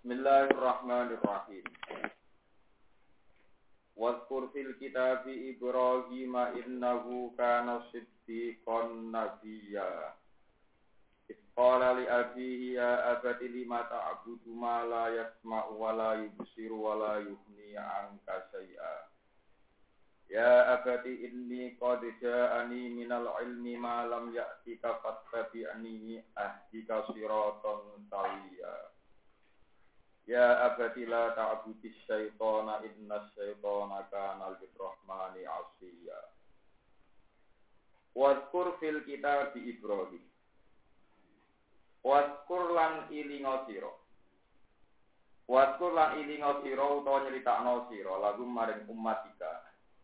Bismillahirrahmanirrahim. Wadhkur fil kitabi Ibrahim innahu kana siddiqan nabiyya. Qala li abihi ya abati lima ta'budu ma la yasma'u wa la yubsiru wa la yughni 'anka syai'a. Ya abati inni qad ja'ani minal ilmi ma lam ya'tika fattabi'ni ahdika siratan sawiyya. Ya abati la ta'budis syaitana innas syaitana kana lirrahmani 'asiyya. Wadhkur fil kitabi Ibrahim. Wadhkur lan ilinga sira. Wadhkur lan ilinga sira utawa nyritakno sira lagu maring umatika.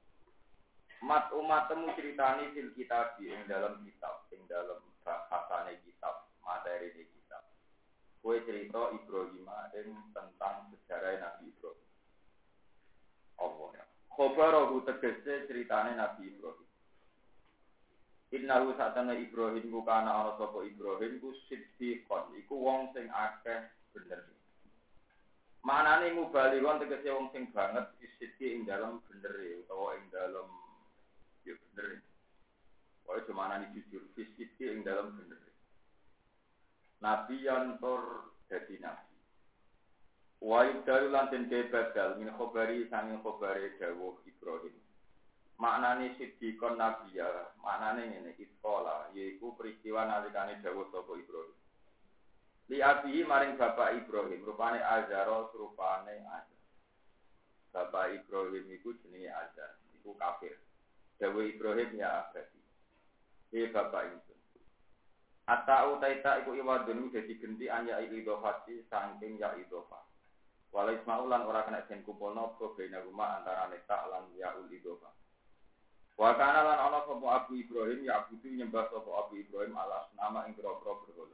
Umatmu critani fil kitabi ing dalam kitab, ing dalam bahasane kitab, materi kitab. Kowe cerita Ibrahim ing tentang sejarah Nabi Ibrahim. Allah ya. Khobarahu tegese ceritane Nabi Ibrahim. Innahu satana Ibrahim ku kana ana sapa Ibrahim ku siddiqon, iku wong sing akeh bener. Manane mubalighan tegese wong sing banget siddiq ing dalam bener utawa ing dalam ya bener. Wae cumanane jujur siddiq ing dalam bener. Nabi yang tur dadi nabi. Wa yudal lan den badal min khobari sanging khobare dawuh Ibrahim. Maknane siddiqon nabiya, maknane ngene iskola, yaiku peristiwa nalikane dawuh sapa Ibrahim. Li abihi maring bapak Ibrahim, rupane Azara rupane Azar. Bapak Ibrahim iku jenenge Azar, iku kafir. Dawuh Ibrahim ya abadi. Bapak itu. Ata utaita iku iwadun dadi genti anya idhofati saking ya idhofa. Wala ismaul lan ora kena den kumpulno bena rumah antarane ta lan ya idhofa. Wa kana lan ana sapa Abu Ibrahim ya abudu nyembah sapa Abu Ibrahim alas nama ing grogro berhala.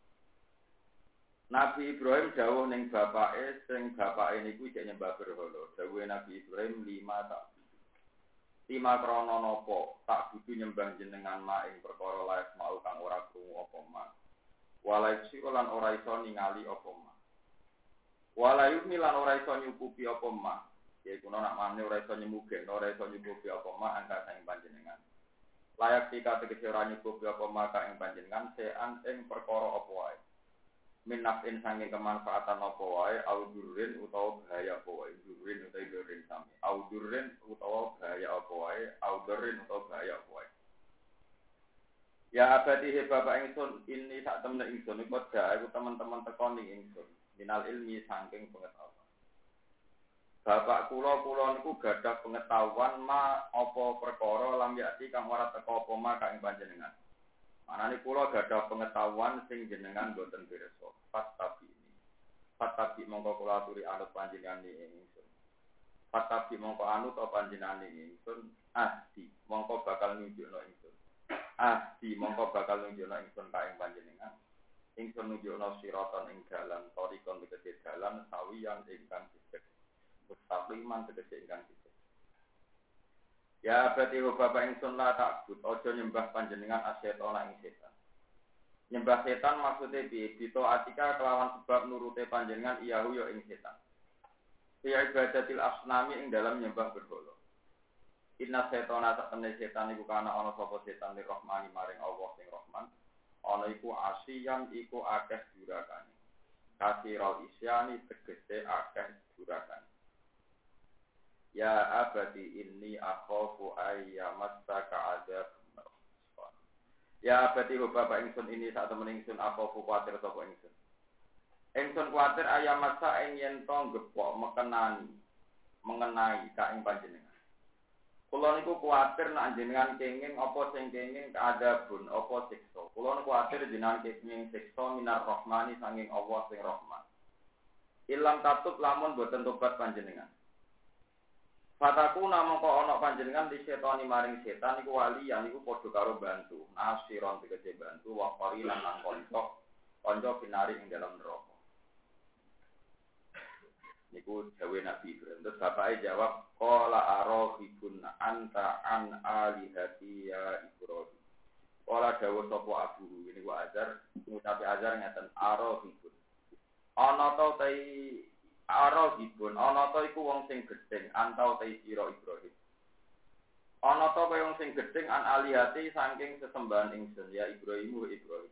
Nabi Ibrahim dawuh ning bapake sing bapake niku jek nyembah berhala. Dawuhe Nabi Ibrahim 5 tak. 5 krana napa tak kudu nyembah jenengan ma ing perkara laes mau kang ora krungu apa ma. Walai lan ora iso ningali apa ma. Walai lan ora iso nyukupi apa ma. Yaiku nak mane ora iso nyemugek, ora iso nyukupi apa ma angka saing panjenengan. Layak tika tegese ora nyukupi apa ma ka ing panjenengan sean ing perkara apa wae. Minafin sanging kemanfaatan apa wae audurrin utawa bahaya apa wae. Durrin utawa durrin sami. Audurrin utawa bahaya apa wae, audurrin utawa bahaya apa wae. Ya abadi he bapak ingsun ini sak temne ingsun iku aku teman-teman tekoni ingsun. Minal ilmi sanging pengetahuan. Bapak kula niku gadah pengetahuan ma apa perkara lam yakti kang ora teka apa ma ka ing panjenengan. Manane kula gadah pengetahuan sing jenengan boten pirsa. Fatabi mongko kula aturi anut panjenengan ingsun. Fatabi mongko anut panjenengan ingsun. Ahdi mongko bakal nunjukno ingsun. Ahdi mongko bakal nunjukno ingsun ka ing panjenengan. Ingsun nunjukno siratan ing dalan, tarikon tegese dalan sawiyan ingkang sithik. Mustaqiman tegese ingkang sithik. Ya berarti bapak ingsun la takbut, aja nyembah panjenengan asyetona ing setan. Nyembah setan maksudnya bito atika kelawan sebab nurute panjenengan iyahu yo ing setan. Fi ibadatil asnami ing dalam nyembah berhala. Inna setona sakmene setan iku kana ana sapa setan li rahmani maring Allah sing Rahman. Ana iku asiyan iku akeh durakane. Kasirul isyani tegese akeh durakane. Ya abadi inni akhafu ayyamassaka adzab. Ya abadi bapak ingsun ini sak temen ingsun akhafu kuwatir sapa ingsun. Ingsun kuwatir ayyamassa ing yen to gepok mengenai ka ing panjenengan. Kula niku kuwatir nek jenengan kenging apa sing kenging kaadabun apa siksa. Kula niku kuwatir jenengan kenging siksa minar rahmani sanging Allah sing Rahman. Ilam tatub lamun boten tobat panjenengan. Fataku namung kok ana panjenengan di setani maring setan iku waliyan iku padha karo bantu. Nasiron tegese bantu wa qarinan lan kanca binari ing dalam neraka. Niku dawe Nabi Ibrahim. Terus bapake jawab, qala araghibun anta an alihati ya Ibrahim. Qala dawuh sapa abu, niku Azar, ngucapi Azar ngaten araghibun. ana ta tai arahibun ana ta iku wong sing gedeng antau tai sira Ibrahim ana ta kaya wong sing gedeng an alihati saking sesembahan ingsun ya Ibrahim.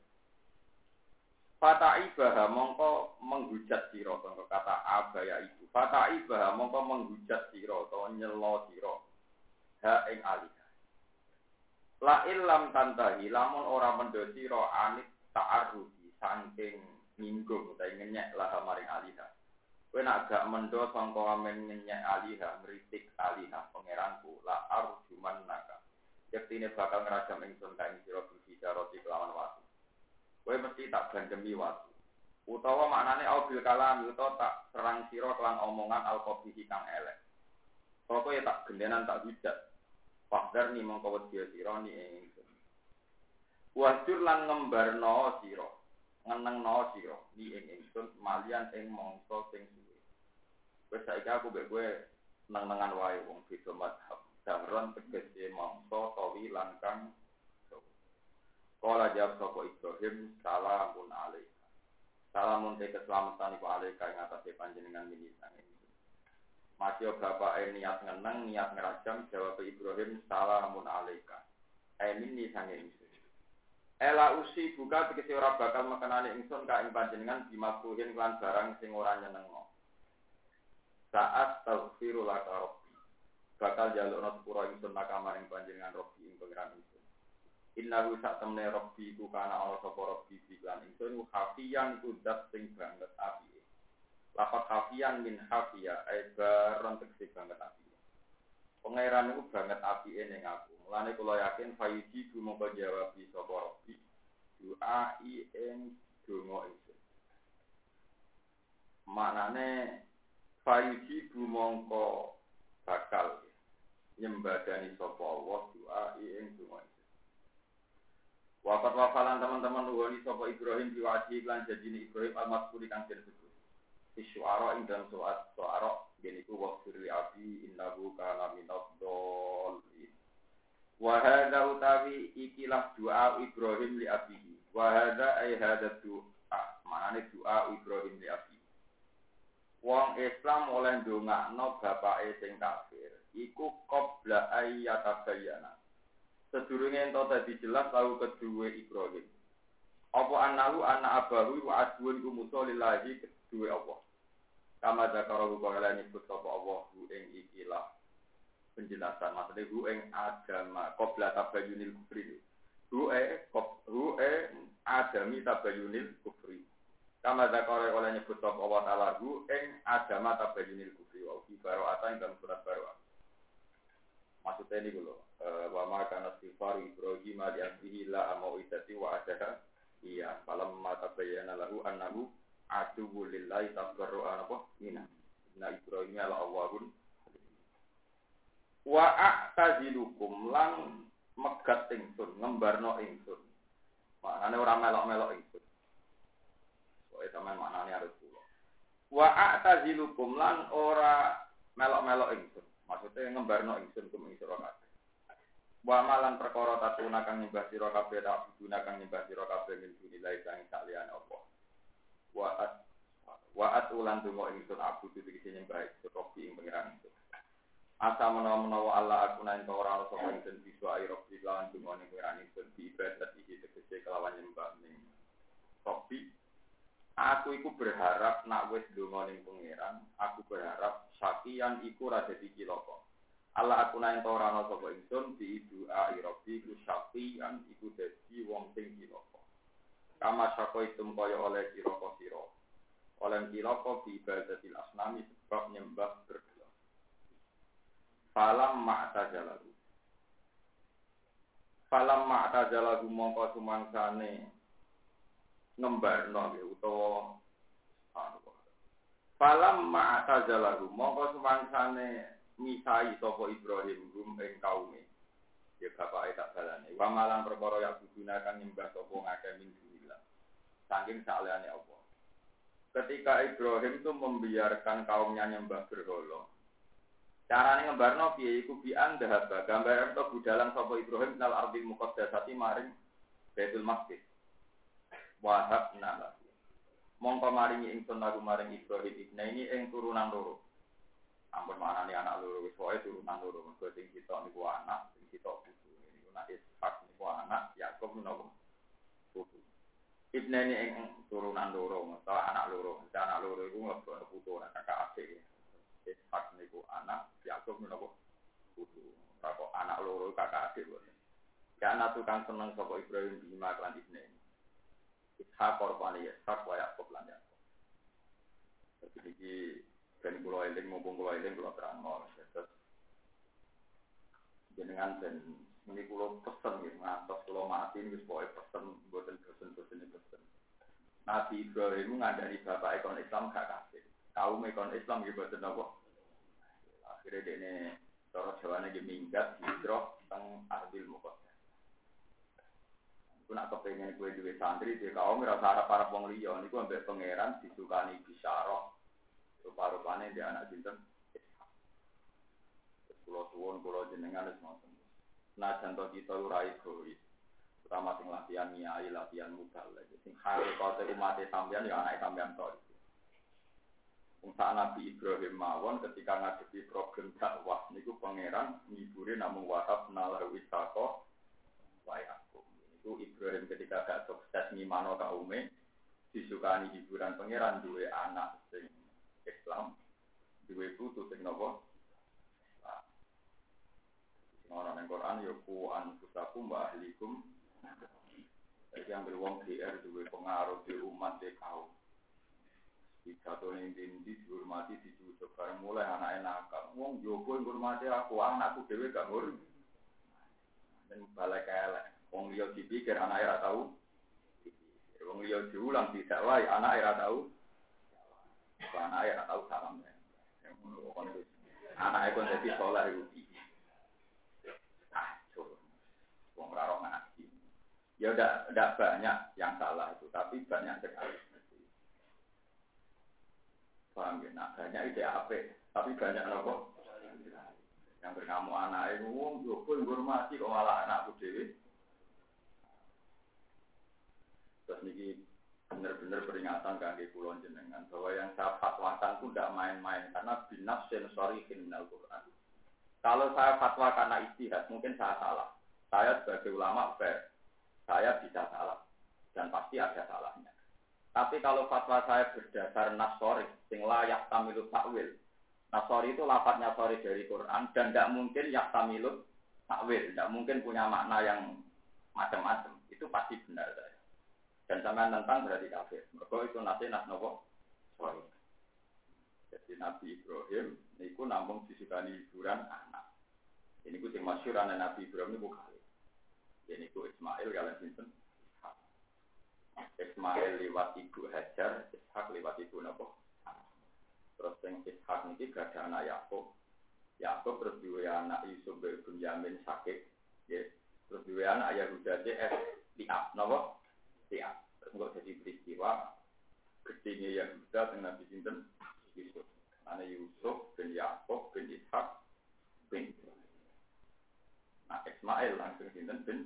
Fata'ibah mongko menghujat sira kanggo kata abaya itu. Fata'ibah mongko menghujat sira utawa nyelo sira ha ing alihah. La illam tantahi lamun ora mendo sira anit ta'arrudi saking nyinggung utawa ngenyek lah maring alihah. Kowe nek gak mendo sangka amen ngenyek alihah, ngritik alihah pangeranku la arjuman naka. Yektine bakal ngrajam ingsun ka ing sira bicarati kelawan watu. Kowe mesti tak bandemi watu. Utawa maknane aubil kalam utawa tak serang sira kelan omongan al-qabihi kang elek. Pokoke tak gendenan tak hujat. Fakdar ni mongko wedi sira ni ingsun. Wajur lan ngembarno sira, ngenengno sira ni ingsun malian ing mangsa sing suwe. Wis saiki aku mbek kowe neng-nengan wae wong beda mazhab. Damron tegese mangsa tawi lan kang kala jawab sapa Ibrahim salamun alaika. Salamun te keselamatan iku alaika ing atase panjenengan minisan. Masih bapak niat ngeneng, niat ngerajam, jawab Ibrahim, salamun alaika. Min ni sange ingsun. Ela usi buka tegese ora bakal mekenani ingsun ka ing panjenengan dimakruhin lan barang sing ora nyenengno. Saat taghfiru laka rabbi. Bakal jalukna sepura ingsun naka maring panjenengan Rabbi ing pangeran ingsun. Innahu sak temne Rabbi ku kana ana sapa Rabbi lan ingsun hafiyan ku zat sing banget api. Lafaz hafiyan min hafiya baron tegese banget api. Pangeran iku banget apike ning aku. Mulane kula yakin fayuji mongko jawab sapa Rabbi. Du'ai ing donga ingsun. Maknane fayuji mongko bakal nyembadani sapa Allah du'ai ing donga ingsun. Wafat wafalan teman-teman nuwani sapa Ibrahim diwaji lan janjine Ibrahim al-Mas'uli kang disebut. Isyuara ing dalam suara yaitu waqfir li abi innahu kana minadh-dhalin. Wa hadza utawi ikilah doa Ibrahim li abihi. Wa hadza ay hadza doa maknane doa Ibrahim li abihi. Wong Islam oleh ndongakno bapake sing kafir iku qabla ayyatabayyana. Sedurunge ento dadi jelas lalu kedue Ibrahim. Apa anahu ana abahu wa adwun Musa lillahi kedue Allah. Kama zakarahu kala nyebut sapa Allah hu ing ikilah penjelasan maksudnya hu ing agama qabla tabayyunil kufri. Hu adami tabayyunil kufri. Kama zakarahu kala nyebut sapa Allah taala hu ing agama tabayyunil kufri wa fi bara'ata ing dalam surat Bara'ah. Maksudnya ini dulu wa ma kana istighfar Ibrahim li abihi la amauidati wa adaha iya falamma tabayyana lahu annahu aduwwu lillahi tabarru'a apa minna Ibrahim ala Allahun wa a'tazilukum lan megat ingsun ngembarno ingsun maknane ora melok-melok ingsun soe sampean maknane harus kula wa a'tazilukum lan ora melok-melok ingsun maksudnya ngembarno ingsun kum ing sira kabeh wa malan perkara tatuna kang nyembah sira kabeh tak gunakan nyembah sira kabeh min dunilai sang saliyane apa Wa'at ulan dungo ingsun abu tutu kisi nyembah ingsun Robi ing pengiran ingsun Asa menawa Allah aku nain kau orang sapa ingsun Biswa'i Robi lawan dungo ing pengiran ingsun Di ibadat isi tegese kelawan nyembah ing Robi Aku iku berharap nak wis dungo ing pengiran Aku berharap syakian iku rada dikiloko Allah aku nain kau orang sapa ingsun Di du'a'i Robi ku syakian iku dadi wong sing kiloko Kama syako itum kaya oleh siro-siro. Oleh kiloko bi ibadatil asnami sebab nyembah berhala. Falam ma'tajalahu mongko sumangsane ngembarno utawa Falam ma'tajalahu mongko sumangsane misai sapa Ibrahim rum ing kaume. Ya bapake tak balane. Wa malan perkara ya digunakan nyembah sapa ngakeh min saking salehane Allah. Ketika Ibrahim itu membiarkan kaumnya nyembah berhala. Carane ngembarno piye iku bi andhaba gambaran to budalan sapa Ibrahim nal ardil muqaddasati maring Baitul Maqdis. Wahab nala. Mongko maringi ingsun lagu maring Ibrahim ibnaini ing turunan loro. Ampun manane anak loro wis wae turunan loro. Mergo sing sitok niku anak, sing sitok putu. Niku nek Ishak niku anak, Yakub menawa putu. Ibnaini ing turunan loro, mesti anak loro. Anak loro iku mlebu putu ora kakak adik. Ishak niku anak, Yakub menawa putu. Kok anak loro kakak adik wae. Karena tukang seneng sapa Ibrahim bima lan ibnaini. Ishak korban Ishak wa Yakub lan Yakub. Jadi iki ben kula eling mumpung kula eling kula terangno. Terus jenengan ben ini kula pesen nggih ngantos kula mati wis pokoke pesen mboten bosen-bosen pesen. Nabi Ibrahim ngandani bapak ekon Islam gak kasih. Kaum ekon Islam nggih boten napa. Akhire dene cara Jawane nggih minggat hijrah teng Ardil Muqaddas. Aku nak kepengen kue duwe santri di kaum rasa harap wong liya niku ambek pangeran disukani bisyarah rupa-rupane dia anak sinten kula suwun kula jenengan wis ngoten. Nah contoh kita ora egois. Pertama sing latihan nyai latihan mubalek sing hakikate umat sampeyan ya anak sampeyan tok. Wong Nabi Ibrahim mawon ketika ngadepi problem dakwah niku pangeran ngibure namung wahab nalar wisako wae. Itu Ibrahim ketika gak sukses ngimano kaume disukani hiburan pangeran duwe anak sing Islam duwe putu sing napa sing ana nang Quran ya ku anfusakum wa ahlikum yang berwong GR duwe pengaruh di umat di kaum dikatone ndi dihormati dicucuk bareng mulai anake nakal wong jowo ngurmati aku anakku dhewe gak ngur dan balik elek wong liya dipikir anake ora tau. Wong liya diulang tidak wae anake ora tau. Anake ora tau salam. Anake kon dadi saleh iku iki. Wong ora ora ngaji. Ya ndak banyak yang salah itu, tapi banyak sekali. Paham ya? Nah, banyak ide apik, tapi banyak nopo. Yang bernama anake wong yo ngurmati kok malah anakku dhewe. Terus niki benar-benar peringatan kangge kula jenengan bahwa yang saya fatwakan itu tidak main-main karena binas sensori kriminal Quran. Kalau saya fatwa karena ijtihad mungkin saya salah. Saya sebagai ulama fair, saya bisa salah dan pasti ada salahnya. Tapi kalau fatwa saya berdasar nasori, sing layak tamilut takwil. Nasori itu lafadznya sori dari Quran dan tidak mungkin yak tamilut takwil, tidak mungkin punya makna yang macam-macam. Itu pasti benar saya. Dan sampean tentang berarti kafir. Mergo itu nas nopo? Sorry. Jadi Nabi Ibrahim niku namung disukani hiburan anak. Ini ku sing masyhur ana Nabi Ibrahim niku kali. Ini ku Ismail kalian sinten? Ismail liwat ibu Hajar, Ishak liwat ibu nopo? Terus sing Ishak niki gadah anak Yakub. Yakub terus duwe anak Yusuf bin Yamin sakit. Nggih. Terus duwe anak Yahuda Liab nopo? Ya, terus jadi peristiwa gedenya Yahuda dengan Nabi sinten Yusuf. Ana Yusuf bin Yakub bin Ishak bin nah Ismail langsung sinten bin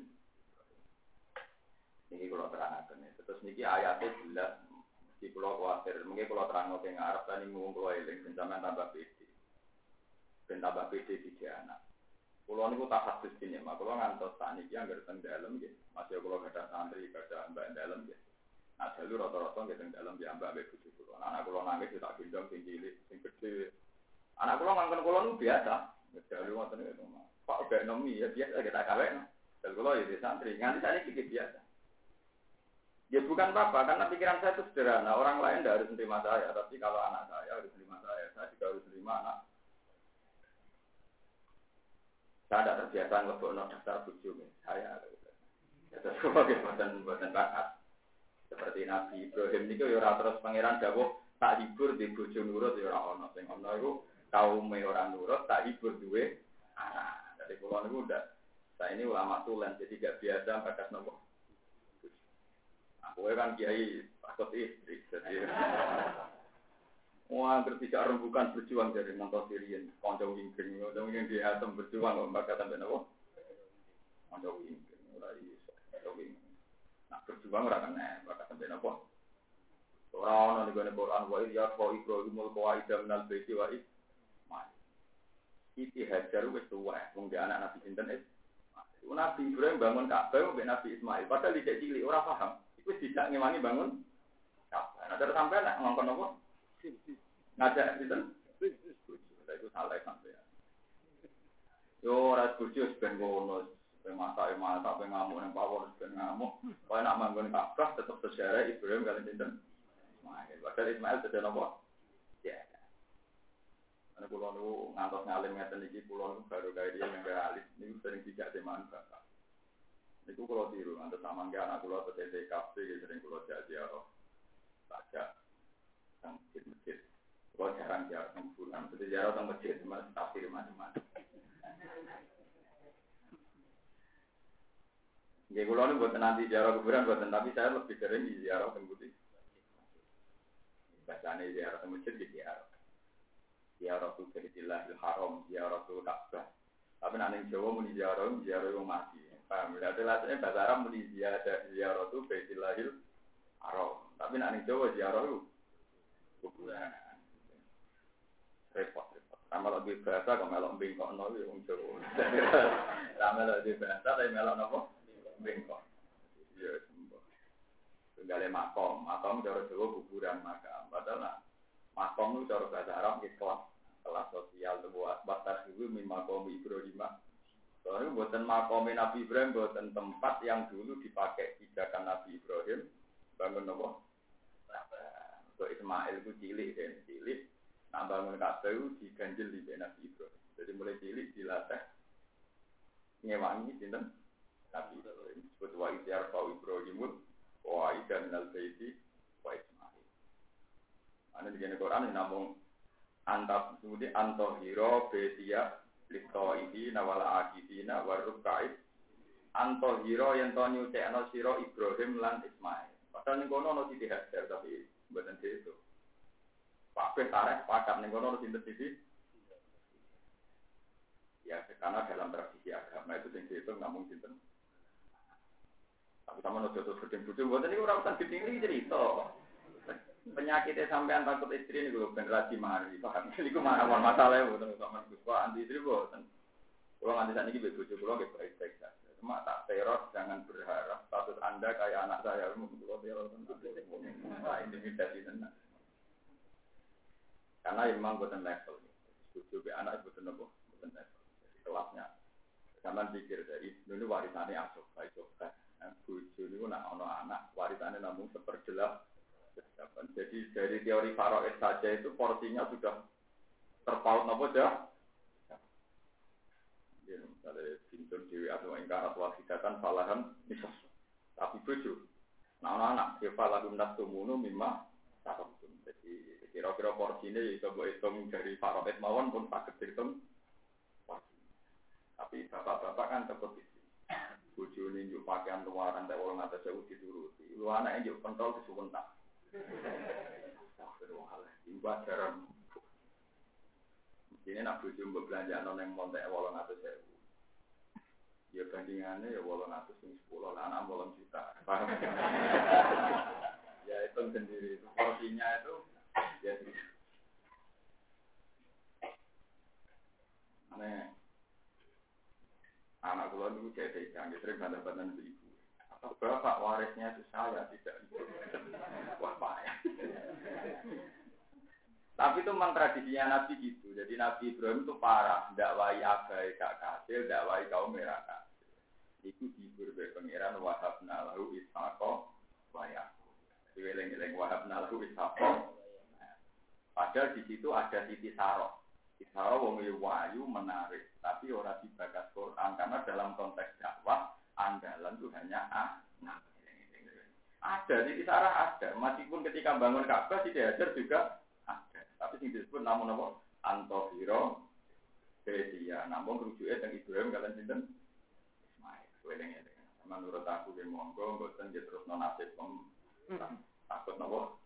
niki kula terangaken. Terus niki ayatnya jelas di kula kuwatir mungkin kula terangno teng Arab lan mung kula eling ben sampean tambah pede. Ben tambah pede di anak. Kulo niku tak hadis dene, mak kulo ngantos saniki anggere teng dalem nggih. Masih kulo gadah santri, gadah mbak dalem nggih. Nah, dalu rata-rata nggih teng dalem ya mbak mbek bojo kulo. Anak kulo nangis tak gendong sing cilik, sing gedhe. Anak kulo ngangkon kulo niku biasa. Dalu ngoten niku. Pak gak nomi ya biasa kita kawin. Dalu kulo ya santri, nganti saniki biasa. Ya bukan apa-apa, karena pikiran saya itu sederhana. Orang lain tidak harus menerima saya, tapi kalau anak saya harus menerima saya juga harus menerima anak. Saya tidak terbiasa ngelebokno daftar bojo saya. Terus buatan bakat. Seperti Nabi Ibrahim niku ya ora terus pangeran dawuh tak hibur di bojo nurut ya ora ono. Sing ono iku kaume ora nurut tak hibur duwe anak. Dari kula niku ndak. Saya ini ulama tulen jadi gak biasa bakat nopo. Aku kan kiai takut istri jadi. Wah, bertiga rembukan berjuang dari nonton Sirian, konco wingking, konco wingking di atom berjuang, mbak kata benar kok, konco wingking, mulai konco wingking. Nah berjuang orang kena, mbak kata benar kok, Ora ana ning Quran wa ya fa Ibrahimul qawaida minal baiti wa Ismail. Iki Hajar wis tuwa, wong dia anak Nabi sinten Ismail. Nabi Ibrahim bangun Ka'bah mbek Nabi Ismail, padahal dicek cilik ora paham. Iku tidak ngewangi bangun Ka'bah. Nah, terus sampai nek ngongkon apa? Ngajak sinten? Itu salah sampai. Yo ora bojo ben ngono. Masak ngamuk nang pawon ben ngamuk. Kaya nak manggon Ka'bah tetep sejarah Ibrahim kalian sinten? Ismail. Padahal Ismail sedaya napa? Ya. Ana kula niku ngantos ngalim ngeten iki kula niku baru gawe dia yang alis niku sering tidak teman bapak. Niku kula tiru ngantos samangke anak kula tetep TKP sering kula ziarah. Baca sang masjid. Kula jarang ziarah nang bulan, tetep ziarah nang masjid mas tafsir macam-macam. Nggih kula niku mboten nanti ziarah kuburan mboten, tapi saya lebih sering ziarah teng putih. Bacane ziarah teng masjid ziarah. Ziarah tu Baitillahil Haram, ziarah tu Ka'bah. Tapi nek ning Jawa muni ziarah wong mati. Paham? Lha terus bahasa Arab muni ziarah tu Baitillahil Haram. Tapi nek ning Jawa ziarah kuburan. Repot. Sama lagi bahasa kok melok bengkokno yo wong Jawa. Sama lagi bahasa tapi melok napa? Bengkok. Ya sembo. Tunggale makom cara Jawa kuburan makam. Padahal makom itu cara bahasa Arab kelas sosial buat batas itu makom Ibrahim. Soalnya buatan makom Nabi Ibrahim buatan tempat yang dulu dipakai pijakan Nabi Ibrahim bangun apa? Untuk Ismail itu cilik. Nah bangun Ka'bah itu diganjil di Nabi Ibrahim. Jadi mulai cilik dilatih ngewangi sinten Nabi Ibrahim. Sebut wa isyar fa Ibrahimul wa idan minal baiti wa Ismail. Ane di Quran namung antap kemudian antohiro betia litoihi nawal akidina warukait antohiro yang to nyucekno sira Ibrahim lan Ismail. Padahal ning kono ono Siti Hajar tapi mboten itu. Kabeh tareh pakat ning kono ono sinten sisi. Ya karena dalam tradisi agama itu sing dihitung namung sinten. Tapi sama no jodoh gedeng bojo mboten niku ora usah gedeng iki cerita. Penyakitnya sampean takut istri ini gue generasi mari, paham? Ini gue mana masalahnya, bukan sama gue anti istri bukan. Kalau anti saat ini begitu, kalau gue baik-baik saja. Cuma tak teror, jangan berharap status anda kayak anak saya, mungkin kalau teror intimidasi tenan. Karena memang bukan level, setuju anak bukan level. Jadi kelasnya, zaman pikir dari dulu warisannya asuh, baik. Buju ini nak anak warisannya namun seperjelas. Jadi dari teori Faraid saja itu porsinya sudah terpaut apa aja? Ya, misalnya bintun dewi atau ingkar atau wakidatan falahan misas. Tapi buju, anak-anak kefalahum nastumunu mimma takamtum. Jadi kira-kira porsinya itu boleh hitung dari Faraid mawon pun tak hitung porsi. Tapi bapak-bapak kan seperti buju ini juga pakaian luaran tak orang atas jauh dituruti. Lu anak yang juga pentol disuwentak. Astagfirullahaladzim, wajaran. Ini nak bojo mbok belanjaan nang montek 800.000. Ya bandingannya ya 810 lah anak 8 juta. Paham? Ya itu sendiri itu porsinya itu ya. Aneh. Anak kula niku jadi jangan sering bandar-bandar ibu. Bapak warisnya itu saya tidak ibu. Wah payah. Tapi itu memang tradisinya Nabi gitu. Jadi Nabi Ibrahim itu parah, dakwai abai gak kasil, dakwai kaum merah kasil. Itu dihibur oleh pangeran wahabna lahu ishaqo wa yaqub. Dieleng-eleng wahabna lahu ishaqo. Padahal di situ ada Siti Sarah. Siti Sarah wong wayu menarik, tapi ora dibakas Quran karena dalam konteks dakwah andalan itu hanya anak. Ada, Siti Sarah ada. Meskipun ketika bangun Ka'bah Siti Hajar juga ada. Tapi yang disebut namun apa? Antohiro Bedia. Namun rujuknya yang Ibrahim kalian sinten Ismail. Weleng-weleng. Menurut aku yang monggo, bosan dia terus nonasib. Takut apa?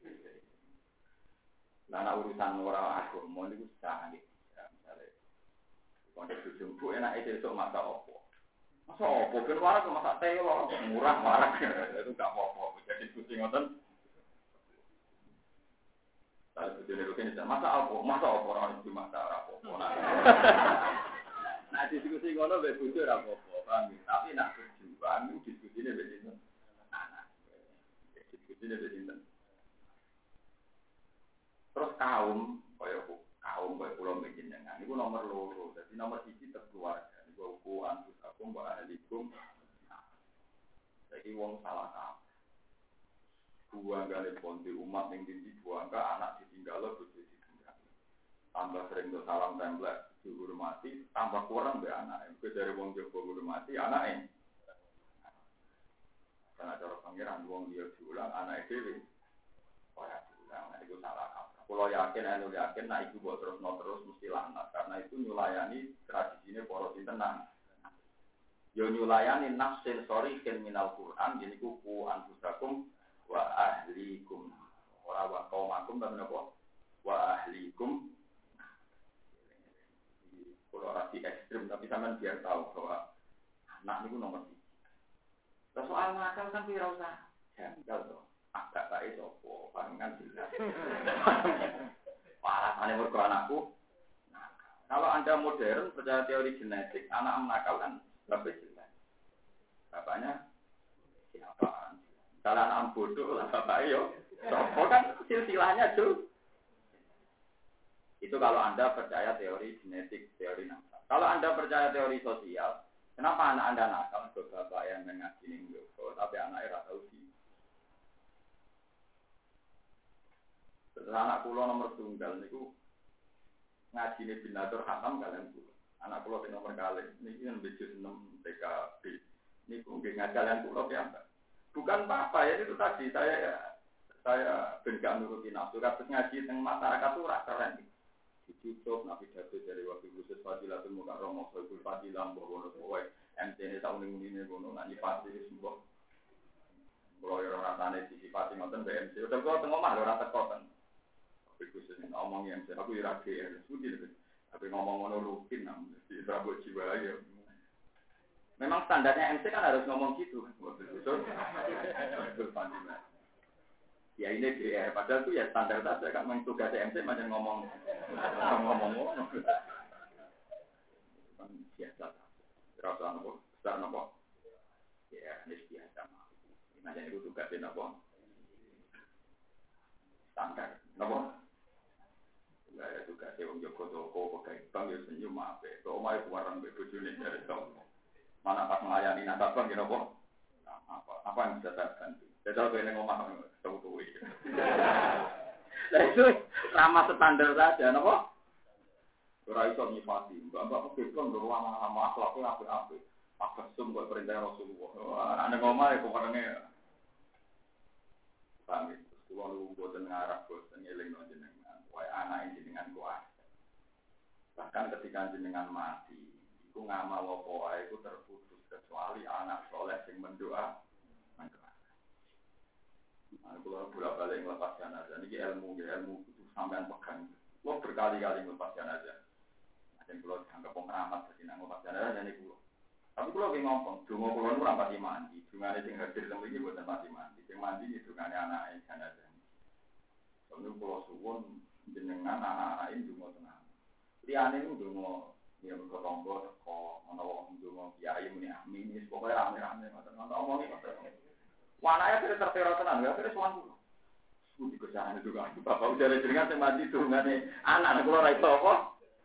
Nah, urusan orang aku mau itu canggih. Misalnya, kalau ujung bu enak itu esok masa opo. Masa opo, kan warak masa telo, murah warak itu nggak apa-apa. Jadi pusing ngoten. Saya bojone rugen masa orang itu masa apa. Nah diskusi ngono mbek bojo ora apa-apa, paham. Tapi nak berjuang itu diskusine mbek sinten? Anak. Diskusine mbek sinten? Terus kaum kaya pulau menjenengan niku nomor loro. Dadi nomor 1 keluarga. Niku ku antus aku wa ahlikum. Saiki wong salah kabeh. Buang gale ponti umat ning dindi buang anak ditinggal bojo ditinggal. Tambah sering do salam templek dihormati, tambah kurang mbek anake. Kowe dari wong Jawa hormati anake. Karena cara pangeran wong dia diulang anake dhewe. Ora diulang, nek iku salah kabeh. Kulo yakin nek iku mbok terus mesti lanat karena itu nyulayani tradisine para sintenan. Yo nyulayani nafsin sorikin minal Quran jeniku ku anfusakum wa ahlikum. Ora wa qaumakum tapi napa? Wa ahlikum. Kalau rasi ekstrim, tapi sampean biar tahu bahwa anak itu nomor 1. Soal nakal kan tidak usah janggal tuh. Agak baik sopo, palingan jelas. Alasannya mergo anakku. Kalau Anda modern percaya teori genetik, anak nakal kan lebih jelas. Bapaknya siapa? Kalau anak bodoh lah bapaknya yo. Sopo kan silsilahnya tuh. Itu kalau Anda percaya teori genetik, teori nakal. Kalau Anda percaya teori sosial, kenapa anak Anda nakal? Bapak yang mengaji ning Joko, tapi anaknya ora tau sih. Terus anak kula nomor tunggal niku ngajine binatur khatam kalian kula. Anak kula sing nomor kalih niki nembe 6 TKB. Niku nggih ngajalan kula piyambak. Bukan apa ya itu tadi saya ben gak nuruti nafsu, terus ngaji teng masyarakat ora keren. Ditutup nabi datu dari waktu khusus Fadilatul Mukarramah Sohibul Fadilah Mbah Wono MCN tahun ini ngono nak nyipati sembuh. Kalau orang rasane disipati ngoten BMC udah kok teng omah lho ora teko ten. Tapi khusus ngomong MC aku ora GR sudi lho. Tapi ngomong ngono rutin nang di Prabu Jiwa ya. Memang standarnya MC kan harus ngomong gitu kan. Betul. Ya ini GR, padahal itu ya standar saja kan tugas MC macam ngomong kan biasa rasa nopo besar nopo ya ini biasa macam itu tugasnya nopo standar nopo nggak ada tugasnya wong Joko toko pakai bank ya senyum apa itu omai keluaran bebujune dari tahun mana pas melayani nasabah gitu nopo apa yang bisa saya bantu saya tahu ini ngomong tahu itu. Nah itu ramah standar saja, napa? Ora iso nyifati, mbak kebon lho lama akhlaknya apik-apik. Apa sum kok perintah Rasulullah. Ana ngomong ya keparenge. Pamit, kulo lu boten ngarep boten eling jenengan. Wae anak jenengan kuat. Bahkan ketika jenengan mati, iku ngamal apa wae iku terputus kecuali anak soleh sing mendoa. Kalau bolak-balik ngelepas jenazah, ini ilmu itu sampean pegang. Lo berkali-kali ngelepas jenazah. Ada yang kalau dianggap pengeramat, jadi ngelepas jenazah, jadi kulo. Tapi kalau lagi ngomong, dungo kulo itu rampati mandi. Dungane sing hadir temu iki buatan pati mandi. Sing mandi itu dungane anake jenazah. Soalnya kulo suwun jenengan anak-anak ini dungo tenang. Liyane itu dungo ya berkelompok teko, ana wong dungo kiai muni amin, pokoke rame-rame ngoten. Ana omongi ngoten. Wanaya kira tertera tenan, ya kira suan dulu. Budi kerjaan itu kan, bapak udah ada jenengan yang mati tuh, anak kula ra iso apa?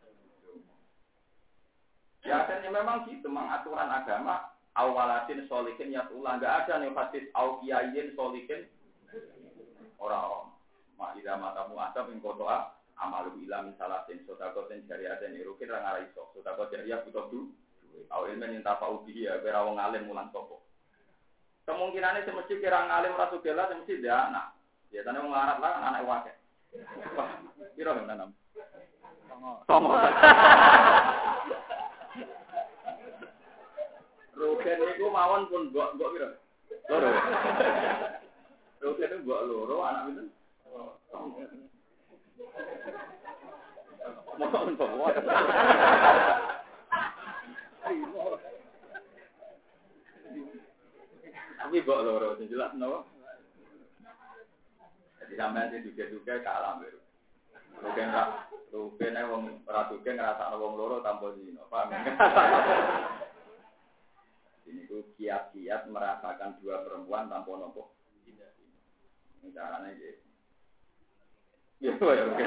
Ya kan memang gitu, memang aturan agama awalatin solikin yatullah, enggak ada nih hadis au kiyayin solikin orang mak ida matamu asab ing kotoa amalu ila misalatin sodakoten jariaten irukin ra ngara iso, sodakot jariah butuh duit. Au ilmen intafa'u bihi ya kira wong alim mulang sapa. Kemungkinannya semesti kira ngalim rasugela semesti dia anak. Biasanya mau ngarap lah anak wakil. Kira yang nanam. Songo. Rugen itu mawon pun mbok kira. Loro. Rugen itu mbok loro anak itu. Mawon mbok. Tapi mbok loro sing jelas napa? Jadi sampean sing duga-duga kalah mbek. Rukene wong ora duke ngrasakno wong loro tanpa zina. Paham ya? Ini tuh kiat-kiat merasakan dua perempuan tanpa nopo. Ini caranya gitu. Ya, oke.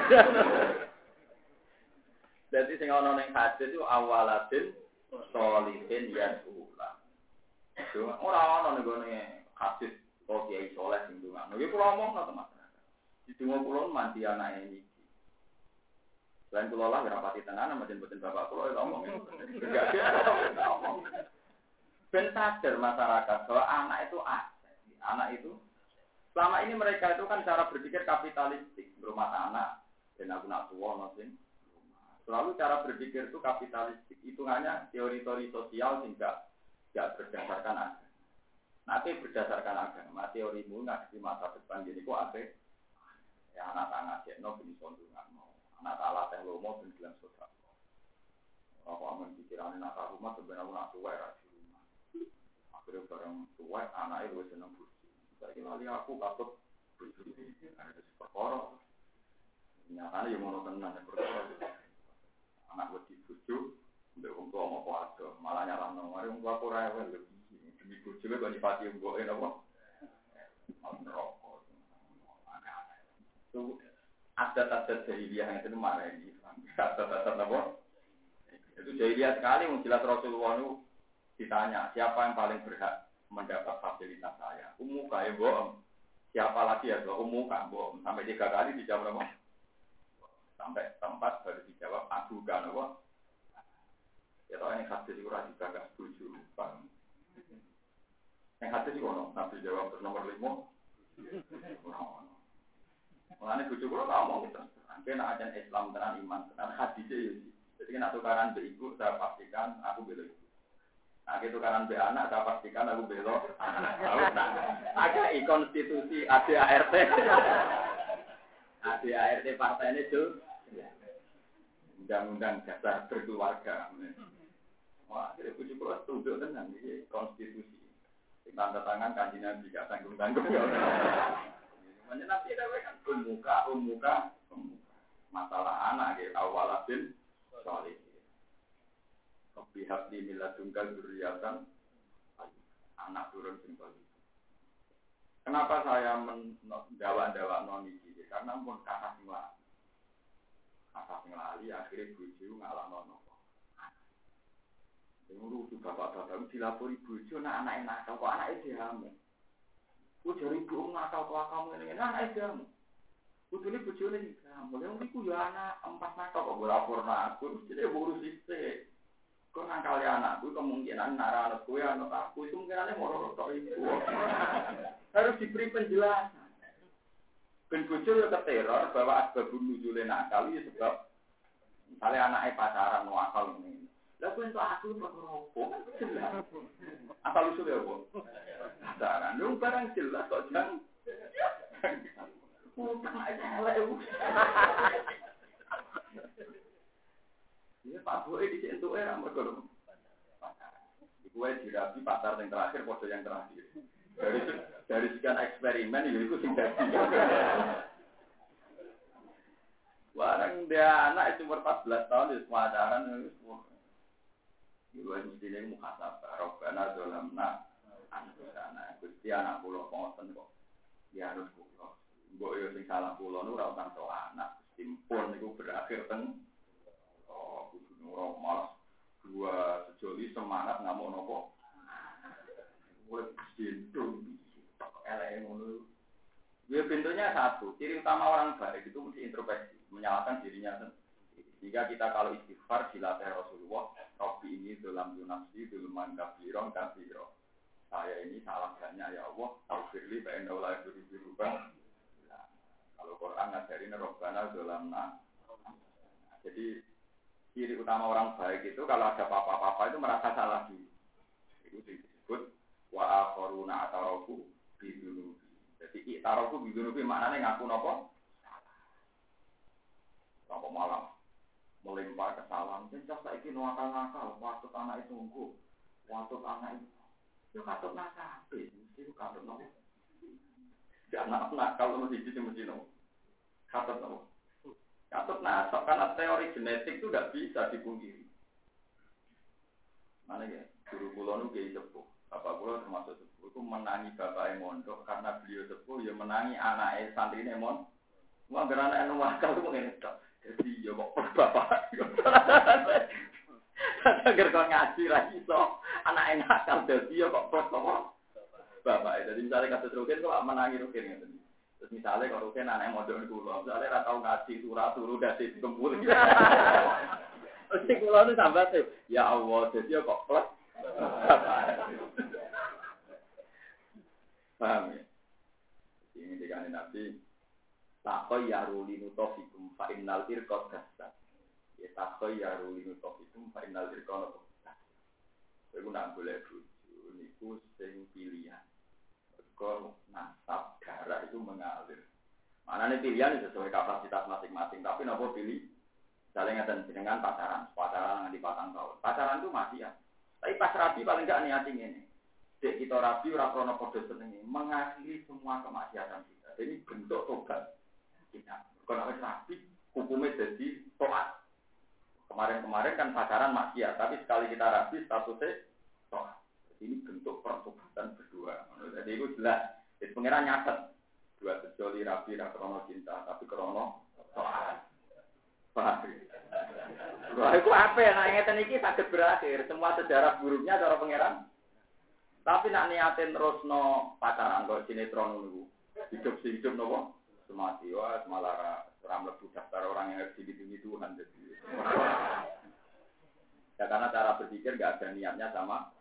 Jadi sing ana ning hadis itu awaladin sholihin yasula. Ora ana ning gone hadis kok kiai saleh sing ndongakno. Iki kula omong to masyarakat. Di donga kula mandi anake iki. Selain kula lah rapati tenan sama mboten bapak kula ngomong. Ben sadar masyarakat bahwa anak itu aset. Anak itu selama ini mereka itu kan cara berpikir kapitalistik, berumah anak dan aku nak tua nosin. Selalu cara berpikir itu kapitalistik. Hitungannya teori-teori sosial sehingga tidak berdasarkan agama. Nanti berdasarkan agama, teorimu nggak di masa depan jadi kok ada ya anak anak jenno bin sondungan mau anak alat yang lomo bin bilang sosial. Aku aman pikiran anak rumah sebenarnya nak tua ya di rumah. Akhirnya bareng tua anak itu seneng buji. Saya kira aku takut buji ada perkara. Nyatanya yang mau tenan perkara. Anak wedi bojo mbek wong tuwa apa ado malah nyarano mari wong tuwa ora rewel demi bojo kok nyipati mboke napa rokok itu adat-adat jahiliyah yang itu marah ini adat-adat apa itu jahiliyah sekali jelas Rasulullah itu ditanya siapa yang paling berhak mendapat fasilitas saya umuka ya bohong siapa lagi ya umuka bohong sampai 3 kali dijawab apa sampai tempat baru dijawab aku kan apa ya tahu ini hadis itu rasa juga setuju bang yang hadis itu ono nabi jawab nomor 5 mengenai bujuk lo ngomong gitu kena ajan Islam tenan iman tenan hadisnya ya jadi kena tukaran be ibu saya pastikan aku bela ibu nah tukaran be anak saya pastikan aku bela ada konstitusi ADART ADART partai ini tuh undang-undang dasar berkeluarga. Wah, jadi puji pulau tunduk dengan ini konstitusi. Tanda tangan kanji Nabi gak tanggung-tanggung. Nanti ada kan umuka. Masalah anak gitu awaladin soleh. Pihak di miladungkal duriatan anak turun simbol. Kenapa saya mendawa noni ini? Karena pun kata singlah. Kata lali akhirnya bojo ngalah nono. Yang lucu bapak-bapak dilapori bojo anak nakal kok anaknya dihamu. Bojo ibu nakal kok kamu ini anaknya dihamu. Bojo ini bojo ini dihamu. Yang iku ya anak 4 nakal kok lapor aku jadi urus istri. Kok nakal ya anakku kemungkinan nara anak gue anak aku itu mungkinannya mau tok ibu. Harus diberi penjelasan. Ben bojo yo keteror bahwa asbabun nuzule nakal ya sebab misalnya anaknya pacaran mau akal ini. Lah kuwi entuk aku perkara jelas. Asal usul ya, Bu. Pacaran lu barang jelas kok jang. Utang aja elek. Iya Pak Boe disentuke ra mergo. Iku wae dirapi pasar yang terakhir foto yang terakhir. Dari sekian eksperimen itu sing dadi. Barang dia anak itu umur 14 tahun di pacaran itu semua. Ibu mestinya muhasabah, Rabbana dzalamna anfusana. Gusti anak kula ngoten kok. Ya harus kula. Mbok yo sing salah kula nu ora usah tok anak. Simpun niku berakhir teng kudu ora malas dua sejoli semangat ngamuk nopo. Wes sintung elek ngono. Ya pintunya satu, ciri utama orang baik itu mesti introspeksi, menyalahkan dirinya sendiri. Jika kita kalau istighfar dilatih Rasulullah, Rabbi ini dalam nafsi, dalam kafiron. Saya ini salah banyak ya Allah, taufirli, ba'inna ulai berubah. Kalau Quran ngajarin Rabbana dalam jadi ciri utama orang baik itu kalau ada apa-apa itu merasa salah diri. Itu disebut wa akharuna atarafu bidunubi. Jadi itarafu bidunubi maknanya ngaku napa? Apa malam melimpah kesalahan. Jadi saiki nakal-nakal, waktu anak itu nggo, waktu anak itu katut nakal, itu katut napa? Jangan nakal mesti mesti no. Katut napa? Katut nasab karena teori genetik itu tidak bisa dipungkiri. Mana ya? Guru kula nu kiai sepuh. Bapak kula termasuk sepuh itu menangi bapaknya mondok karena beliau sepuh ya menangi anaknya santrine mondok. Wah gerana anu wakal ku ngene tok. Jadi ya kok bapak. Agar kok ngaji ra iso anake nakal dadi ya kok apa? Bapak. Jadi misalnya kasus Rukin kok menangi Rukin ngeten. Terus misalnya kalau Rukin anake mondok niku kula, misalnya ra tau ngaji surah turu dadi gembul. Mesti kula nu sambat ya Allah, dadi ya kok plus. Paham ya? Ini dikane Nabi takoy yaruli nutofikum fa innal irqad kasat. Ya takoy yaruli nutofikum fa innal irqad kasat. Iku nak boleh bojo niku sing pilihan. Mergo nasab darah itu mengalir. Manane pilihan sesuai kapasitas masing-masing, tapi napa pilih? Misalnya ngeten jenengan pacaran nganti 4 tahun. Pacaran itu masih ya. Tapi pas rabi paling enggak niati ngene. Dek kita rabi ora krono padha senenge, mengakhiri semua kemaksiatan kita. Jadi bentuk tobat kita. Kalau wis rabi, hukumnya jadi tobat. Kemarin-kemarin kan pacaran maksiat, tapi sekali kita rabi statusnya tobat. Jadi ini bentuk pertobatan berdua. Jadi itu jelas. Jadi pengiran nyatet. Dua sejoli rabi ra krono cinta, tapi krono tobat. Paham. Wah, itu apa ya? Nah, ngeten iki saged berakhir. Semua sejarah buruknya cara pengiran. Tapi nak niatin terus no pacaran kok sinetron niku. Hidup nopo? Semati wah malah ora mlebu daftar orang yang harus dihitungi Tuhan jadi. Ya karena cara berpikir enggak ada niatnya sama.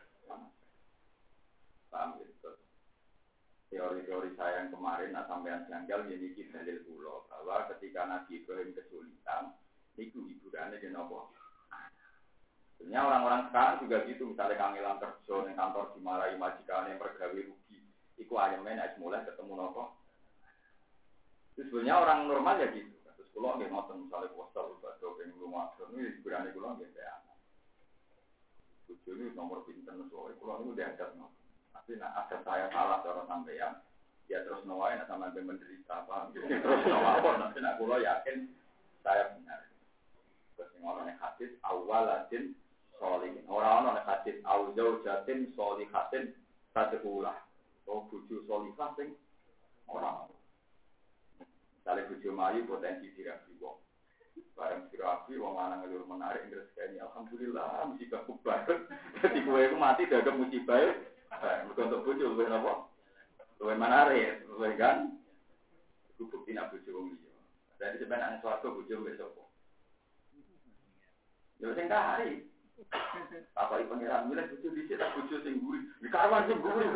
Paham gitu. Teori-teori saya yang kemarin sampean janggal ini dalil kula bahwa ketika Nabi Ibrahim kesulitan niku hiburannya di nopo. Sebenarnya orang-orang sekarang juga gitu, misalnya kangelan kerja di kantor dimarahi majikan yang pergawe rugi, itu ayamnya naik mulai ketemu nopo. Itu sebenarnya orang normal ya gitu. Terus kalau nggak ngotot misalnya puasa lupa yang rumah, ini berani kalau nggak saya. Tujuh ini nomor pinter soalnya kalau ini udah ada nopo. Tapi nak ada saya salah orang sampean, ya terus nawain sama yang menderita apa, terus nawain nanti nak kalau yakin saya benar. Terus ngomongnya hadis awaladin solihin. Orang-orang yang hadis awzau jatin solihatin sadehulah. Oh buju solihah sing orang. Misalnya buju mayu potensi dirabi wong. Barang dirabi wong lanang ngelur menarik rezeki alhamdulillah musibah kubar. Jadi kowe iku mati dadak musibah. Mergo untuk buju luwih napa? Luwih menarik, luwih kan? Iku bukti nak buju wong liya. Jadi sebenarnya swarga buju wis sapa? Ya sing kari. Apa iki pengiran milih bojo dhisik tak bojo sing mburi. Iki karwan sing mburi.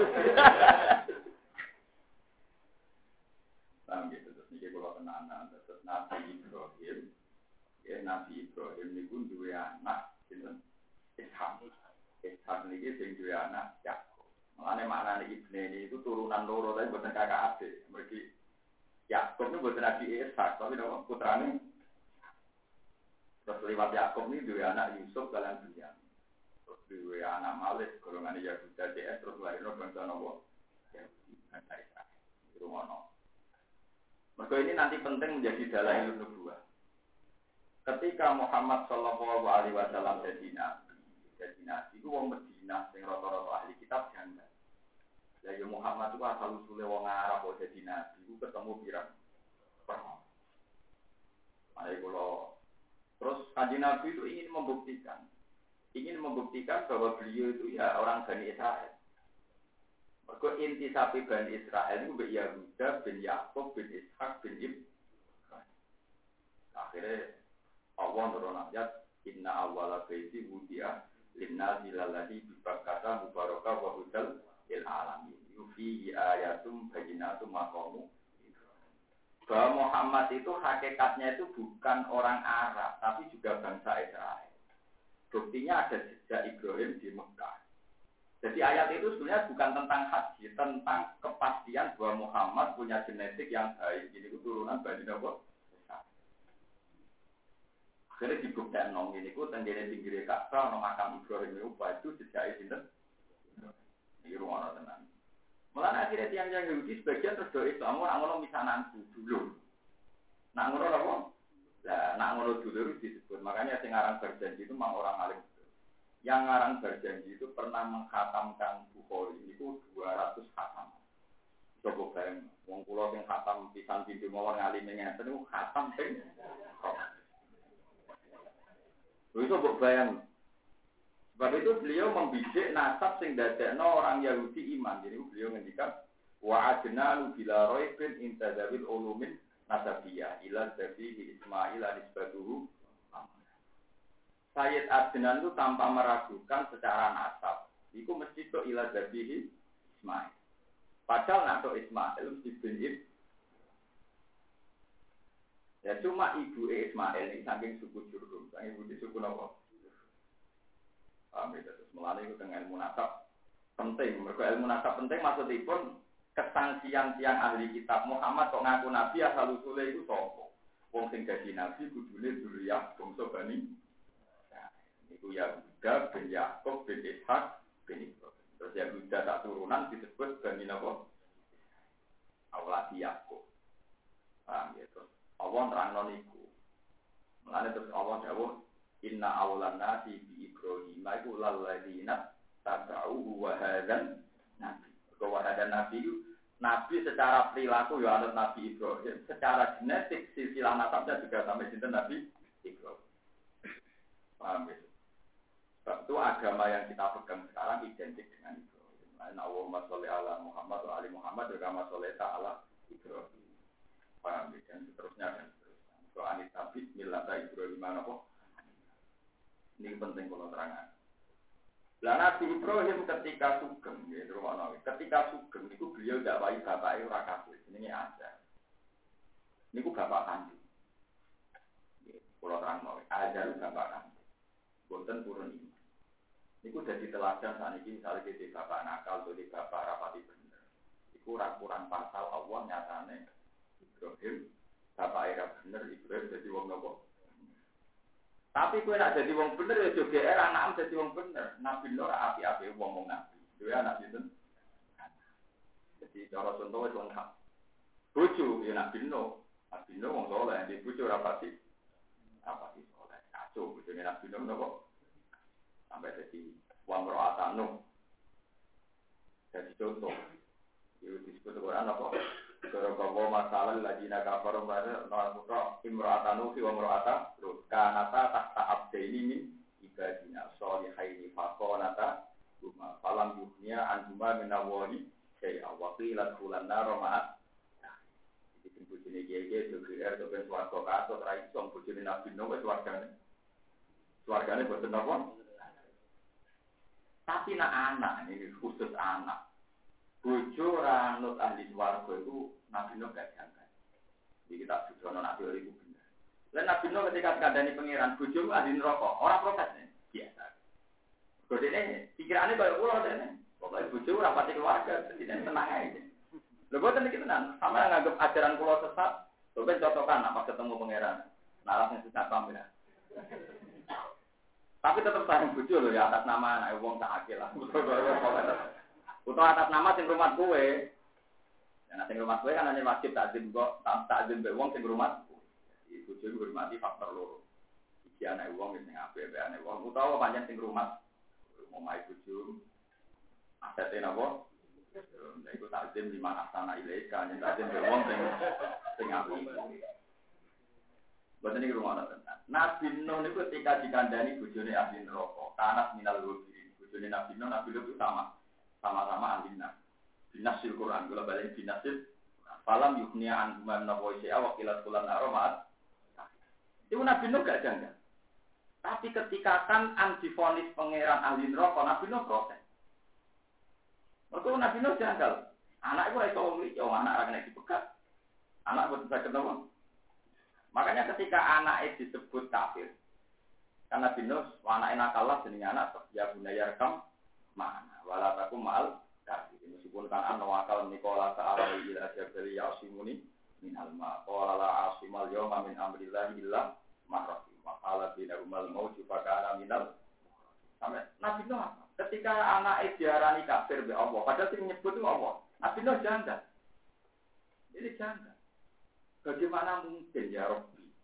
Paham gitu terus niki kula tenanan terus Nabi Ibrahim. Ya Nabi Ibrahim niku duwe anak sinten? Ishak. Ishak niki sing duwe anak Yakub. Mulane maknane ibne itu turunan loro tapi boten kakak adik. Mergi Yakub niku boten Nabi Ishak tapi nama putrane. Terus lewat Yakub ini dua anak Yusuf kalian Binyamin. Terus dua anak Malik golongan Yahuda DS terus lahirnya bangsa Nabi Yahudi bangsa Israel. Itu ngono. Maka ini nanti penting menjadi dalail nubuwah. Ketika Muhammad Shallallahu Alaihi Wasallam jadi nabi itu wong Medina sing rata-rata ahli kitab janda. Lah ya Muhammad itu asal usule wong Arab kok jadi nabi itu ketemu pirang. Mari kula terus Kanjeng Nabi itu ingin membuktikan bahwa beliau itu ya orang Bani Israel. Mergo inti sapi Bani Israel itu bin Yahuda, bin Yakub, bin Ishak, bin Ibrahim. Akhirnya Allah nurun ayat inna awwala baiti wudi'a linnasi lalladzi bi Bakkah mubarakah wa hudal lil alamin. Yufi ayatum bayyinatum maqamu bahwa Muhammad itu hakikatnya itu bukan orang Arab, tapi juga bangsa Israel. Buktinya ada jejak Ibrahim di Mekah. Jadi ayat itu sebenarnya bukan tentang haji, tentang kepastian bahwa Muhammad punya genetik yang baik. Ini turunan Bani Nabi. Akhirnya dibuktikan nong ini, tenggine pinggir Ka'bah, nong makam Ibrahim itu jejak itu. Ini rumah tenang. Malah akhirnya tiang-tiang Yahudi sebagian terus doa Islam, orang-orang misananku dulu. Nak ngono apa? Lah nak ngono dulur disebut. Makanya sing aran berjanji itu memang orang alim. Yang aran berjanji itu pernah menghatamkan Bukhari itu 200 khatam. Coba bayang, wong kula sing khatam pisan pintu mawon ngalime ngeten niku khatam ping. Wis coba bayang. Sebab itu beliau membidik nasab sing dadekno orang Yahudi iman. Jadi beliau ngendikan wa adnalu bila raibin intadzawil ulumin nasabiyah ila zabihi Ismail anisbatuhu. Sayyid Adnan itu tanpa meragukan secara nasab. Iku mesti to ila zabihi Ismail. Padahal nak to Ismail mesti bin ya cuma ibu Ismail ini saking suku Jurhum, saking ibu di suku Nawa. Terus melalui itu dengan ilmu nasab penting. Mereka ilmu nasab penting maksudipun kesangsian tiang ahli kitab Muhammad kok ngaku nabi asal usule itu sapa. Wong sing dadi nabi kudune dzurriyyah bangsa Bani. Iku Yahuda bin Yakub bin Ishak bin Ibrahim. Terus Yahuda tak turunan disebut Bani napa? Awlad Yakub. Terus Allah nerangno niku. Mulane terus Allah dawuh inna awlan nasi bi Ibrahim iku lalladzina tabauhu wa hadzan nabi. Bahwa ada nabi secara perilaku ya anut Nabi Ibrahim, secara genetik silsilah nasabnya juga sampai sinten Nabi Ibrahim. Paham ya? Sebab itu agama yang kita pegang sekarang identik dengan Ibrahim. Allahumma sholli ala Muhammad wa ali Muhammad wa kama sholaita ala Ibrahim. Paham ya? Dan seterusnya dan seterusnya. So anit nabi millata Ibrahim apa? Ini penting kalau terangkan. Lah Nabi Ibrahim ketika sugeng, ketika sugeng itu beliau dakwahi bapake ora kafir, jenenge Azar. Niku bapak kandung. Kalau terang Azar itu bapak kandung. Boten purun ini. Niku dadi teladan saniki misalnya dadi bapak nakal, dadi bapak rapati bener. Iku ora kurang pasal Allah nyatane Ibrahim bapak era bener Ibrahim dadi wong nopo. Tapi kowe nak jadi wong bener ya jo GR anakmu jadi wong bener. Nabi Nur api-api wong nabi. Dhewe anak sinten? Jadi cara contoh wis wong hak. Bojo ya Nabi Nur. Nabi Nur wong saleh, di bojo ora pati. Apa sih saleh? Kacau bojone Nabi Nur napa? Sampai jadi wong ro'atanu. Jadi contoh. Itu disebut Quran apa? Kalau masalah lagi nak kafarum pada nafkah imro'atanu fi wa imro'ata kanata tahta abdaini min ibadina sholihaini faqanata huma falam yuhnya anhuma min awali syai'a wa qila qulan nar ma'at. Jadi bojone kiye-kiye DPR to ben swarga kato ra iso bojone Nabi Nuh wis swargane. Swargane boten napa? Tapi nak anak ini khusus anak. Bojo ora nut ahli swarga itu Nabi Nuh gak jangka. Jadi kita sudah Nabi Nuh itu benar. Lalu Nabi Nuh ketika kandani pangeran bojo ahli neraka, orang protes nih biasa. Kodene pikirannya kayak ulah dene. Pokoke bojo ora pati keluarga, jadi tenang aja. Lha boten iki tenan, sama nganggep ajaran kula sesat, coba cocokan apa ketemu pangeran. Nah langsung sesat pamit. Tapi tetap sayang bojo lho ya atas nama anak wong tak akil lah. Utawa atas nama sing rumah kowe. Nah sing rumah kowe kan hanya wajib takzim kok, takzim mbek wong sing rumah. Jadi bojo iku hormati faktor loro. Iki anak wong sing apik mbek anak wong utawa pancen sing rumah omahe bojo. Asete napa? Nek iku takzim lima asana ilaika, nek takzim mbek wong sing apik. Boten iki rumah tenan. Nabi Nuh niku ketika dikandani bojone ahli neraka, kanas minal lubi. Bojone Nabi Nuh itu sama-sama ahli neraka. Binasil Quran, kalau balik binasil, falam yuknia anhuman naboisya wakilat kulan aromat. Itu Nabi Nuh gak janggal. Tapi ketika kan antifonis pangeran ahli neraka, Nabi Nuh protes. Waktu Nabi Nuh janggal. Anak itu iso wong anak ora kena dipegat. Anak boten saged napa? Makanya ketika anak disebut kafir, karena Nabi Nuh anake nakal jenenge anak ya bunayar kam mana wala takum mal kafir. Meskipun kan wakal Nikola ta'ala ila jabali yasimuni min alma qala la asimal yawma min amrillah illa ma rahim wa qala bina umal mauju fakana minal. Sampai Nabi Nuh ketika anak diarani kafir be Allah, padahal sing nyebut itu Allah. Nabi Nuh janggal. Jadi janggal. Bagaimana mungkin ya Rabbi?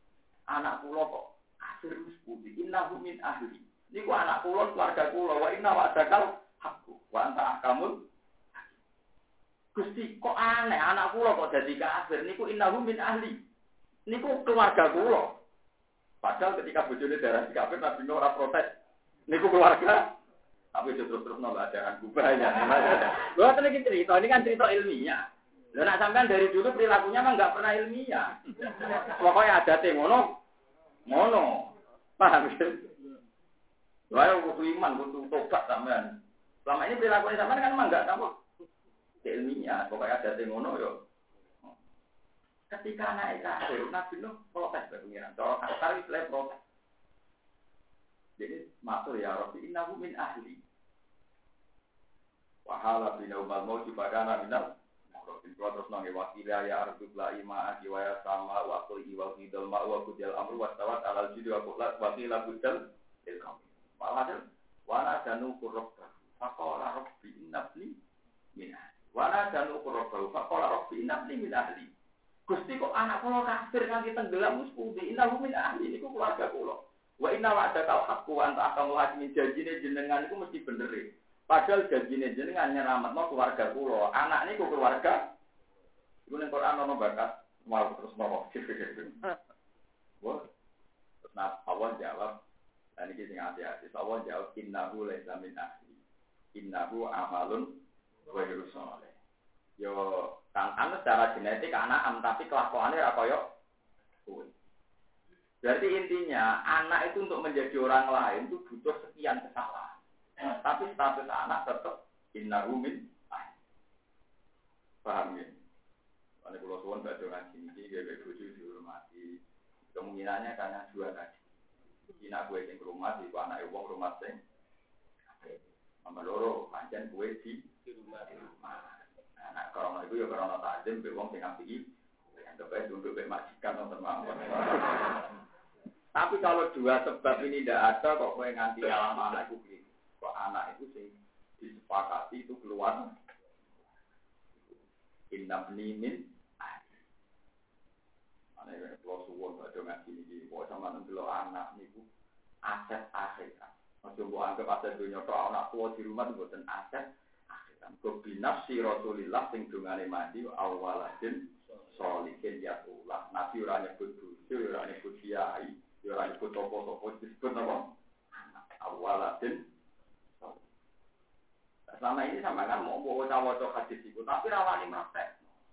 anak kula kok kafir wis pundi innahu min ahli. Niku anak kula keluarga kula wa inna wa'dakal haqqu wa anta ahkamul. Gusti kok aneh anak kula kok dadi kafir niku innahu min ahli. Niku keluarga kula. Padahal ketika bojone darah kafir Nabi Nuh ora protes. Niku keluarga tapi terus nolak ajaran kubahnya. Lho tenan iki cerita, ini kan cerita ilmiah. Lha nek sampean dari dulu perilakunya mah enggak pernah ilmiah. Pokoknya adate ngono. Paham ya? Lha yo kudu iman, kudu tobat sampean. Selama ini perilaku sampean kan emang enggak apa ilmiah, pokoknya adate ngono yo. Ketika anak kafir, Nabi Nuh protes ke pengiran. Cara kasar wis protes. Jadi matur ya Rabbi innahu min ahli. Wahala bina umal mauti bagana minal Maqrabin terus nang wakila ya ardu la ima wa ya sama wa qul iwal hidal ma wa kudil amru wa tawat alal judi wa qul wakila budal ilkam walhasil wala danu qurrabba faqala rabbi innabni min ahli wala danu qurrabba faqala rabbi innabni min ahli. Gusti kok anak kula kafir nganti tenggelam wis pundi innahu min ahli niku keluarga kula wa inna wa'dakal haqqu wa anta ahkamul hakimin janjine jenengan iku mesti bener. Padahal janjine jenengan nyelametno keluarga kula. Anak niku keluarga. Iku ning Quran ana bakas mau terus nopo. Wah. Terus Allah jawab, lan iki sing ati-ati. Allah jawab innahu laisa min ahli. Innahu amalun ghairu shalih. Yo kan secara genetik anak tapi kelakuannya ora kaya kowe. Berarti intinya anak itu untuk menjadi orang lain itu butuh sekian kesalahan. Tapi status anak tetap innahu min ahli. Paham ya? Kalau pulau suwon gak ada ngaji ini, dia bojo dihormati. Kemungkinannya karena dua tadi. Cina gue yang rumah, di anak wong rumah sing. Sama loro pancen gue di rumah. Nah, kalau itu ya karena takdim, be wong sing apiki. Yang terbaik untuk be majikan nonton mawon. Tapi kalau dua sebab ini tidak ada, kok gue nganti alam anak gue. Kok anak itu sing disepakati itu keluar innabni min ahli. Ana kalau suwon ada ngaji iki, kok sama ndelok anak niku aset akhirat. Aja mbok anggap aset dunya tok anak tua di rumah mboten aset akhirat. Kok binafsi Rasulillah sing dungane mandi awaladin sholihin yatullah. Nabi ora nyebut bojo, ora nyebut kiai, ora nyebut topo-topo disebut apa? Awaladin. Selama ini sama kan mau bawa-bawa hadis itu, tapi rawani praktek.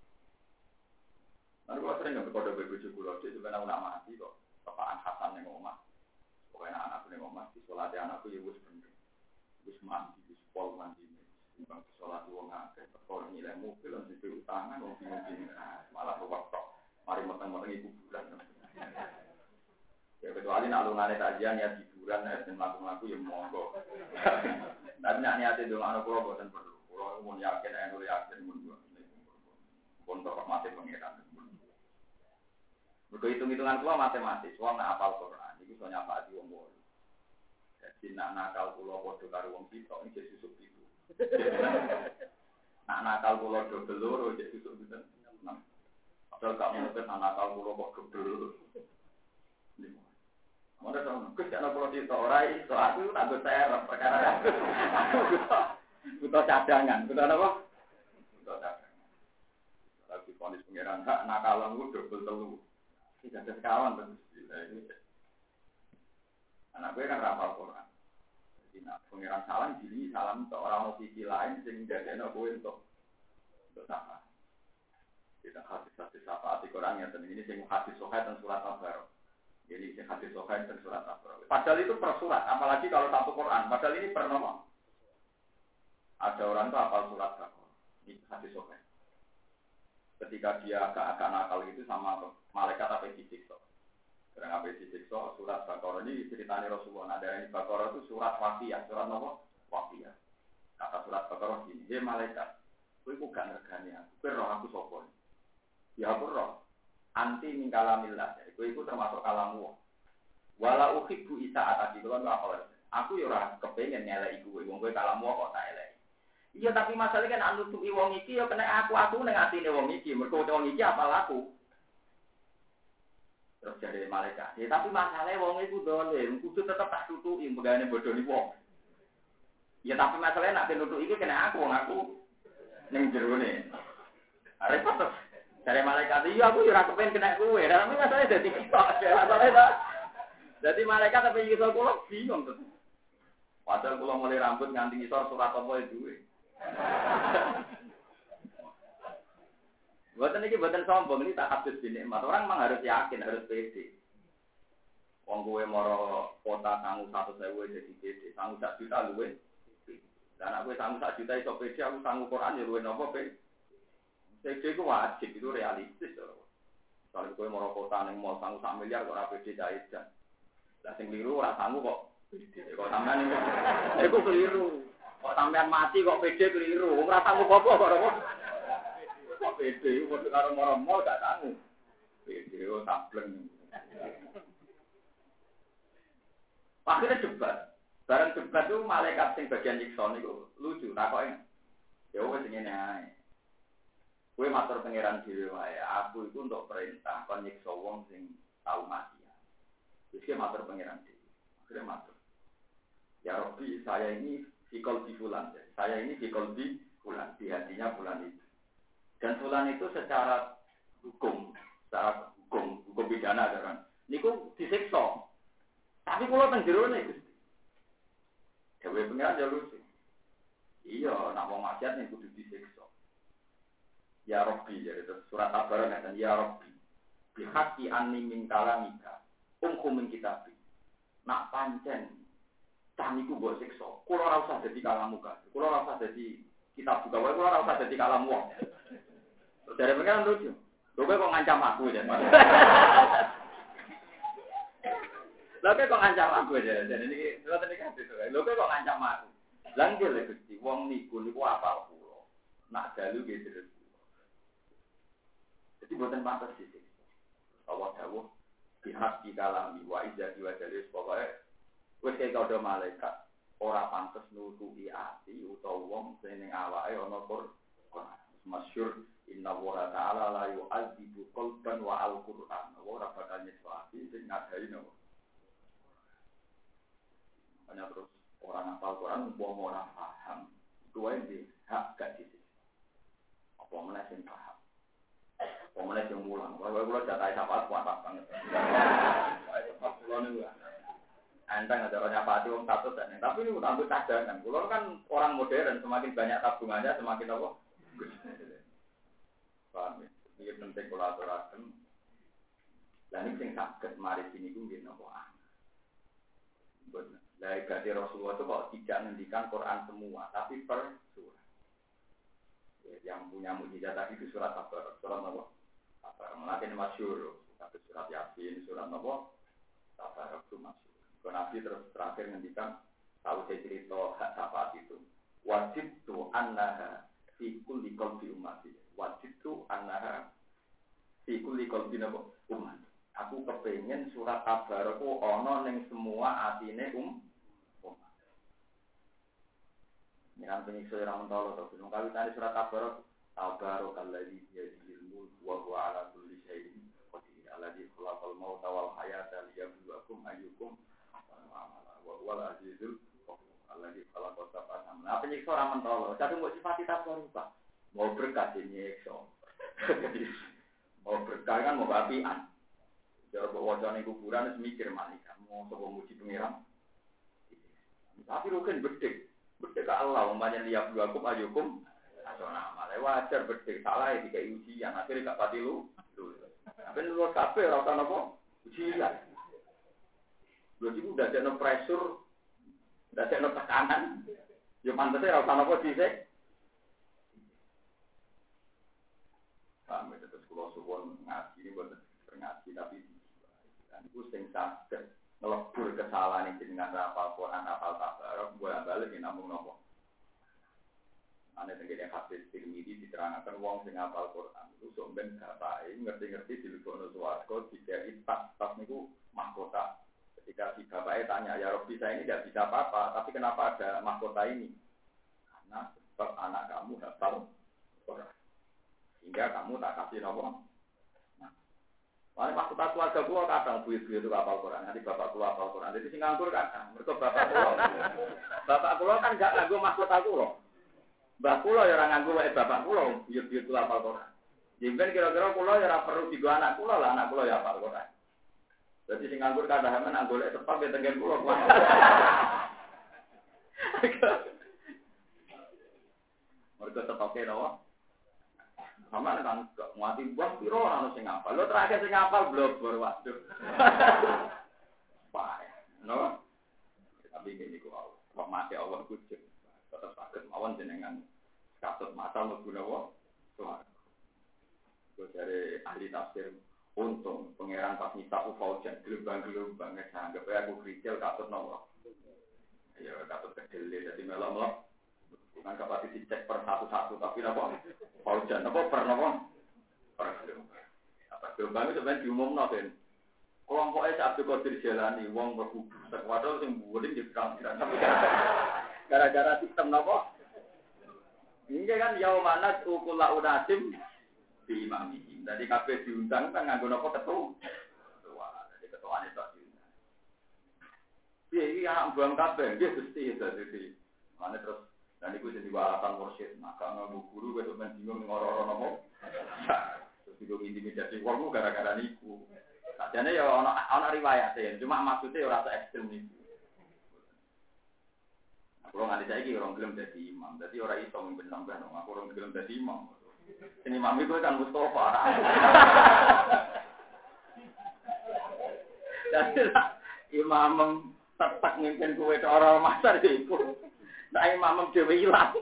Lalu kalau sering nggak berkode begitu kulo, dia juga nak mati kok. Bapaan Hasan yang ngomong, pokoknya anakku yang ngomong, di sholat anakku ya wis bener, wis mandi, wis pol mandi, timbang di sholat uang ngake, kalau nilai mobil langsung di utangan, mau bingung malah waktu, mari matang-matang ibu bulan. Ya kecuali nak lungannya kajian ya hiburan, ya laku-laku ya monggo. Tapi nak niatin dulu anak pulau bukan perlu. Pulau pun yakin, anu yakin pun bapak mati pengiran. Berhitung-hitungan pulau matematis. Pulau nak apal Quran. Itu soalnya apa di wong bol. Jadi nak nakal pulau bodoh karo wong sitok ini jadi susuk itu. Nak nakal pulau double loro jadi susuk itu. Padahal gak menuntut nakal pulau kok double. Mana tahu, kerja nak pulau sitok orai. So aku tak berserap perkara. Butuh cadangan, butuh apa? Butuh cadangan. Kalau diponis pengiran hak nakalan itu double telu. Tidak ada sekawan terus. Anak gue kan rapal Quran. Jadi nak pengiran salam jadi salam untuk orang sisi lain sehingga dia nak gue untuk sama. Kita hadis apa arti Qurannya dan ini sing hadis sohail dan surat Al-Baqarah. Jadi sing hadis sohail dan surat Al-Baqarah. Padahal itu per surat, apalagi kalau satu Quran. Padahal ini per nomor. Ada orang itu hafal surat Al-Baqarah. Ini hadis sohail. Ketika dia agak nakal itu sama malaikat apa disiksa. Karena apa disiksa surat Al-Baqarah ini ceritanya Rasulullah. Ada yang di Al-Baqarah itu surat wafiyah, surat apa? Wafiyah. Kata surat Al-Baqarah gini, dia malaikat. Kowe ku gak ngergani aku, kowe roh aku sapa? Ya aku roh. Anti min kalamillah. Kowe iku termasuk kalamu. Wala uhibbu isa'atati. Kulo apa? Aku yo ora kepengin ngeleki kowe. Wong kowe kalamu kok tak eleki. Iya tapi masalahnya kan anu tuki wong iki yo kena aku ning atine wong iki. Mergo wong iki apal aku. Terus jadi malaikat. Ya, tapi masalahnya wong iku dolim, kudu tetep tak tutuki mbegane bodoni wong. Ya tapi masalahnya nak tutuki iki kena aku, wong aku ning jerone. Repot terus. Dari malaikat iya aku ora kepen kena kowe. Tapi masalahnya dadi kita. Masalahnya dadi malaikat tapi iso kula bingung terus. Padahal kula mulai rambut nganti ngisor surat apa duwe. Buatan ini buatan sombong, ini tak habis dinikmat. Orang memang harus yakin, harus pede. Wong kowe moro kota sanggup 1.000 jadi pede, sanggup 1 juta luwe. Dan aku sanggup 1 juta iso pede, aku sanggup Quran ya luwe nopo pede. Pede itu wajib, itu realistis. Kalau kowe moro kota ning mall sanggup 1 miliar kok ora pede jajan. Lah sing keliru ora sanggup kok pede. Kok sampean iku keliru. Kok sampean mati kok pede keliru. Wong ora sanggup apa kok ora. Kok pede, kok karo moro-moro gak sanggup. Pede kok sableng. Akhirnya debat. Barang debat itu malaikat sing bagian nyiksa niku lucu takoke. Ya wis ngene ae. Kowe matur pangeran dhewe wae. Aku iku untuk perintah kon nyiksa wong sing tau mati. Wis matur pangeran dhewe. Akhirnya matur. Ya Rabbi, saya ini fikol di fulan. Saya ini fikol di fulan. Di hatinya fulan itu. Dan fulan itu secara hukum pidana kan. Niku disiksa. Tapi kalau teng jero ne Gusti. Dewe pengen aja lucu. Iya, nak wong maksiat ning kudu disiksa. Ya Rabbi, jadi surat Tabarok ngeten, ya Rabbi. Bihaqi anni min kalamika. Min kitabi. Nak pancen caniku mbok siksa. Kula ora usah dadi kalamu ka. Kula ora usah dadi kitab buka wae, kula ora usah dadi kalamu wong. Dari pengen lucu. Lho kok ngancam aku ya. Lha kok ngancam aku ya. Jadi niki ngoten iki hadis. Lho kok ngancam aku. Lah nggih lho Gusti, wong niku apa kula. Nak dalu nggih terus. Jadi boten pantes sih. Allah dawuh pihak di kalami wa izzati wa jalil pokoke wis kaya malaikat ora pantes nutuki ati utawa wong sing ning awake ana Quran. Masyhur inna wa ta'ala la yu'adzibu qalban wa al-Qur'an. Ora bakal nyeswati sing ngadai no. Hanya terus orang hafal Quran umpama ora paham, kuwi di hak gak sisi. Apa meneh sing paham. Apa meneh sing mulang. Wae kula jatahe sapa kuat banget. Wae sapa kula niku. Antang ada orang nyapati wong satu dan tapi ini tambah cadangan. Kula kan orang modern, semakin banyak tabungannya semakin apa? Paham ya? Ini penting kolaborasi. Dan ini yang sakit mari sini pun gini apa? Dari gadi Rasulullah itu kok tidak menghentikan Quran semua, tapi per surat. Yang punya mujizat tadi itu surat Tabarok, surat apa? Tabarok. Mungkin masyhur, tapi surat Yasin, surat apa? Tabarok itu masyhur. Kalau Nabi terus terakhir menghentikan, tahu saya cerita hak syafaat itu. Wajib tu annaha fi kulli qalbi ummati. Wajib tu annaha fi kulli qalbi umat. Aku kepengen surat Tabarok ku ana ning semua atine umat. Nang penyiksa ora mentolo to. Nang kali tadi surat Tabarok Tabarokalladzi biyadihil mulku wa huwa ala kulli syai'in qadir. Alladzi khalaqal mauta wal hayata liyabluwakum ayyukum ahsanu amala. Wa huwal azizul ghafur. Alladzi khalaqas sab'a samawati. Apa penyiksa ora mentolo. Satu mbok sifati Tabarok, Pak. Mau berkah nyiksa. Mau berkah kan mau apian. Cara wajane kuburan wis mikir malaikat mau sapa muji pangeran. Tapi rugen bedhek. Bedhek Allah umpamane liap dua kum ayukum. Asona malah wajar bedhek salah dikai ujian akhirnya gak pati lu. Tapi lu kabeh ora ana apa? Ujian. Lho iki udah ada pressure, udah ada tekanan. Yo pantese ora ana apa dhisik. Kami terus kula suwun ngaji ini boten ngaji tapi itu sing saged ngelebur kesalahan jenengan hafal Quran hafal Tabarok bolak-balik namung napa. Ane tengene hadis Tirmidzi diterangkan wong sing hafal Quran itu sok ben bapake ngerti-ngerti dilebokno swarga dikai tas niku mahkota. Ketika si bapaknya tanya, ya Rabbi saya ini tidak bisa apa-apa, tapi kenapa ada mahkota ini? Karena sebab anak kamu hafal Quran. Hingga kamu tak kasih nomor. Nah, Wah, maksud keluarga gua kadang duit-duit itu hafal Quran, nanti bapak gua hafal Quran. Jadi sing nganggur kadang. Mergo bapak gua kan gak nganggo maksud aku loh. Mbah kula ya ora nganggo wae bapak kula, duit-duit kula hafal Quran. Jemben kira-kira kula ya ora perlu digo anak kula lah, anak kula ya hafal Quran. Jadi sing nganggur kadang men golek tepak ya tengen kula. Mergo tepake napa? Sama kan mati buah piro ora sing ngapal. Lho terakhir sing ngapal blobor waduh. Payah, no? Tapi ini kok mati Allah kucing. Tetap sakit mawon jenengan katut mata mlebu napa? Tuhan. Gue dari ahli tafsir untung pangeran pas nyita ufaujan gelombang-gelombang anggap aku krikil katut napa? Ya katut kecil jadi melok-melok. Bukan kapal dicek per satu-satu tapi napa? Paujan apa per napa? Per gelombang. Apa gelombang itu sebenarnya diumumno kan. Kelompoknya Abdul Qadir Jalani wong berkubu padahal sing buling di pirang-pirang. Gara-gara sistem napa? Ini kan yaumanat ukula unasim di imami. Jadi kabeh diundang kan nganggo napa ketua. Jadi ketuane tok diundang. Piye iki anak buang kabeh nggih Gusti dadi. Mane terus dan itu jadi alasan mursyid, maka nganggo guru wis men bingung ngoro-oro napa. Terus bingung intimidasi wong gara-gara niku. Sajane ya ana riwayate, cuma maksudnya ora sak ekstrem niku. Kalau nganti saiki orang gelem dadi imam, dadi ora iso mimpin sampean, aku orang gelem dadi imam. Sini imam iku kan Mustofa. Jadi imam tetap mimpin kowe tok ora masar iku. Nah imam dhewe ilang.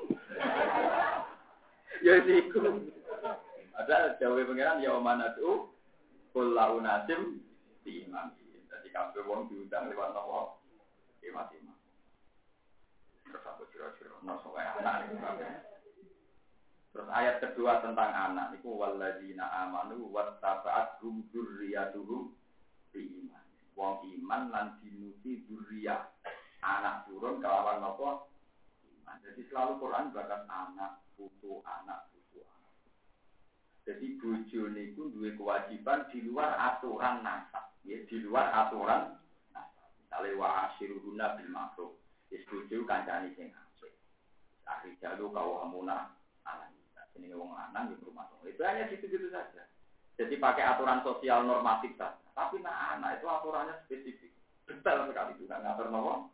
Ya iku. Ada dawuh pangeran ya mana tuh kullu nasim di imam. Jadi kabeh wong diundang lewat napa? Imam. Terus aku kira-kira nopo anak. Terus ayat kedua tentang anak niku walladzina amanu wattaba'athum dzurriyyatuhum biiman. Wong iman lan dinuti dzurriyyah. Anak turun kelawan napa? Iman. Jadi selalu Quran bahkan anak, putu, anak. Jadi bojo niku duwe kewajiban di luar aturan nasab, ya di luar aturan nasab. Misale wa asyiruhunna bil ma'ruf. Wis bojo kancane sing apik. Akhir jalu kawamuna ala kita. Jenenge wong lanang di rumah tangga. Itu hanya gitu-gitu saja. Jadi pakai aturan sosial normatif saja. Tapi anak itu aturannya spesifik. Detail sekali juga ngatur nopo.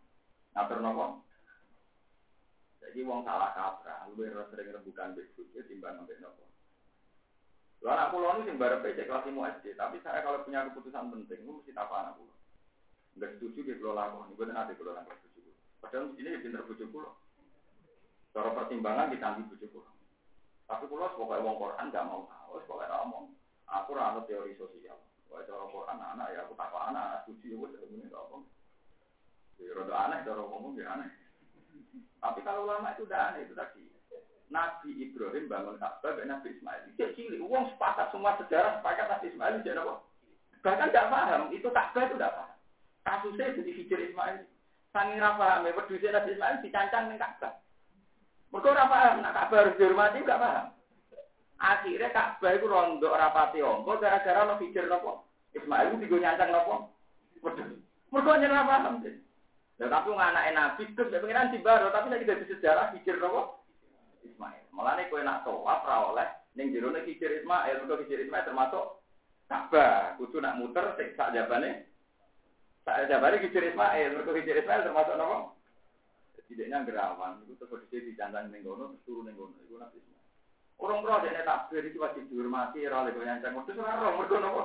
Jadi wong salah kaprah, luwih sering rebukan mbek bojo timbang mbek nopo. Lalu anak pulau ini sing bareng PC kelas 5 SD, tapi saya kalau punya keputusan penting, itu mesti tak anak pulau. Enggak setuju di pulau lakon, gue nanti pulau lakon setuju. Padahal ini pinter bujuk pulau. Cara pertimbangan ditanggi bujuk pulau. Tapi pulau pokoknya wong Quran nggak mau tahu, pokoknya ngomong. Aku ranut teori sosial. Pokoknya cara Quran anak ya aku tak anak setuju, gue tidak punya ngomong. Jadi rodo aneh, cara ngomong dia aneh. Tapi kalau lama itu udah aneh itu tadi. Nabi Ibrahim bangun Ka'bah dan Nabi Ismail. Dia cilik, uang sepakat semua sejarah sepakat Nabi Ismail jadi apa? Bahkan tidak paham, itu Ka'bah itu tidak paham. Kasusnya jadi hijir Ismail. Sangi paham, berdua Nabi Ismail dicancang dengan Ka'bah. Mereka tidak paham, nak Ka'bah harus dihormati tidak paham. Akhirnya Ka'bah itu rondok rapati ongko gara-gara no hijir nopo. Ismail itu digonyancang nopo. Mereka tidak paham. Tapi anak Nabi itu pengiran di baru, tapi saya tidak sejarah hijir nopo. Ismail. Malah nih kue nak tawaf oleh ning jero nek hijir Ismail, mergo hijir Ismail termasuk Ka'bah. Kudu nak muter sak jabane. Sak jabane hijir Ismail, mergo hijir Ismail termasuk napa? Tidaknya gerawan, itu terus dicantang ning ngono, terus turun ning ngono. Iku Nabi Ismail. Orang pro dene takbir iki wajib dihormati ora oleh goyang terus ora ro mergo napa?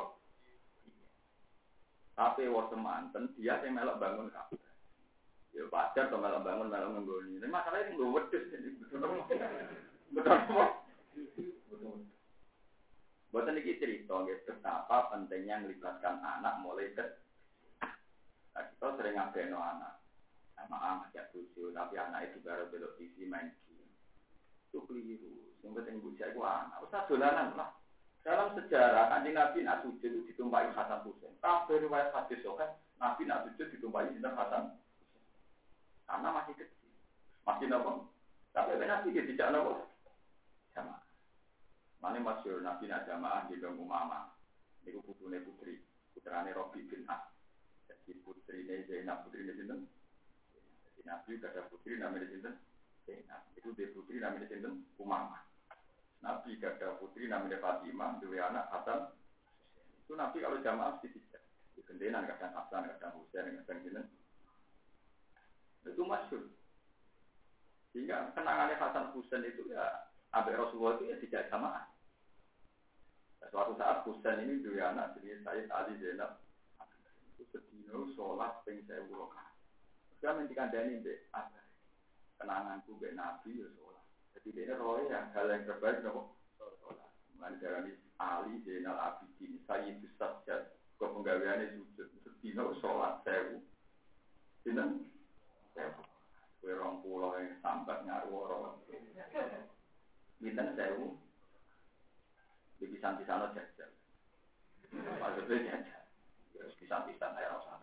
Tapi wong semanten dia sing melok bangun Ka'bah. Ya pacar to malah bangun malah nggoni. Nek masalahnya nggo wedhus betul. Boten iki cerita nggih betapa pentingnya melibatkan anak mulai kecil. Nah, kita sering ngabeno anak. Sama anak ya bojo, tapi anak itu baru belok TV main game. Itu keliru. Sing penting bocah iku anak. Usah dolanan lah. Dalam sejarah Kanjeng Nabi nak sujud itu ditumpahi Hasan Husain. Kabeh riwayat hadis kan Nabi nak sujud ditumpahi Sinten Hasan. Karena masih kecil, masih nopo. Tapi Nabi dia tidak nopo. Jamaah. Mana masyhur Nabi nak jamaah di dalam umama. Niku putune putri, putrane Robi bin As. Jadi putrine Zainab, putrine sinten? Jadi Nabi gak ada putri namanya sinten? Zainab. Itu dia putri namanya sinten? Umamah. Nabi gak ada putri namanya Fatimah, dua anak Hasan. Itu Nabi kalau jamaah mesti tidak. Di gendenan kadang Hasan, kadang Husain, kadang sinten. Itu masyhur. Sehingga kenangannya Hasan Husain itu ya Abu Rasulullah itu ya tidak jamaah. Suatu saat Husain ini dua anak jadi Sayyid Ali Zainab. Itu sedino sholat ping 1000 rakaat. Saya mendikandani mbek apa? Kenanganku mbek Nabi ya sholat. Jadi dia roh yang hal yang terbaik nopo sholat. Mandarani Ali Zainal Abidin Sayyidus Sajjad. Kok penggaweane sujud sedino sholat 1000. Sinten? 1000. Kowe 20 yang sambat ngarworo. Binten 1000. Di pisan-pisan jajal. Maksudnya jajal. Terus pisan-pisan saya rasa.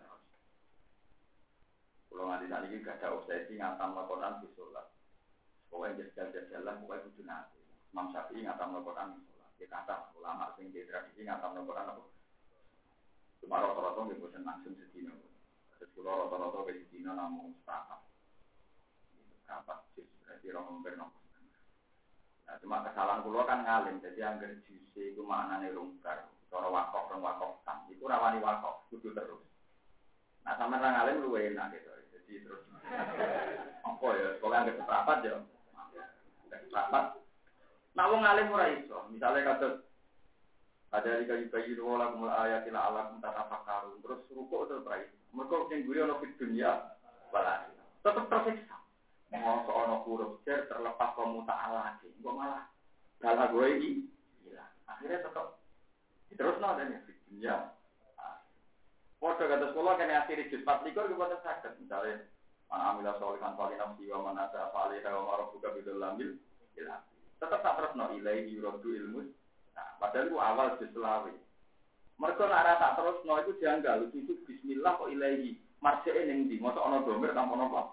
Kalau nanti saat ini gak ada obsesi ngatam Al-Quran di sholat. Pokoknya jajal-jajalan, pokoknya kudu nanti. Imam Syafi'i ngatam Al-Quran di sholat. Dia kata ulama yang di tradisi ngatam Al-Quran apa? Cuma rata-rata dia bosan langsung sedina. Terus kalau rata-rata ke sedina namun sepakat. Berapa juz? Berarti orang bernomor. Nah, cuma kesalahan pulau kan ngalim, jadi anggar juse itu maknanya rungkar, cara wakaf tam, itu rawani wakaf, kudu terus. Nah, sama orang ngalim lu enak gitu, jadi terus. Apa ya? Sekolah anggar seprapat ya, anggar seprapat. Nah, wong ngalim ora iso, misalnya kata ada di kayu dua lagu ayatil alam tatafakkarun, terus rukuk terus rai. Mereka yang guru ono fit dunia, balas. Tetap tersiksa. Mau seorang huruf jar terlepas pemuta'al lagi, kok malah dalah gue ini, gila. Akhirnya tetap terus nol dan ya. Waduh kata sekolah kena akhiri juz 4 likur kepada sakit, misalnya mana amilah solihan falinam siwa manasa falihah wa marah buka bidul lamil, gila. Tetap tak terus nol ilaihi yurodu ilmus. Nah, padahal itu awal juz selawi. Mereka nara tak terus nol itu janggal, itu bismillah kok ilaihi marjain yang di, masa ono domir tanpa nopo.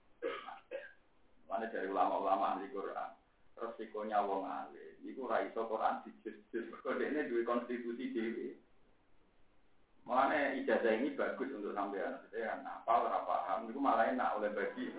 Mana dari ulama-ulama ahli Quran, resikonya wong alim, itu raiso Quran dijus-jus, kode ini dua konstitusi dewi. Mana ijazah ini bagus untuk sampean, saya kan hafal, paham, itu malah enak oleh bagi.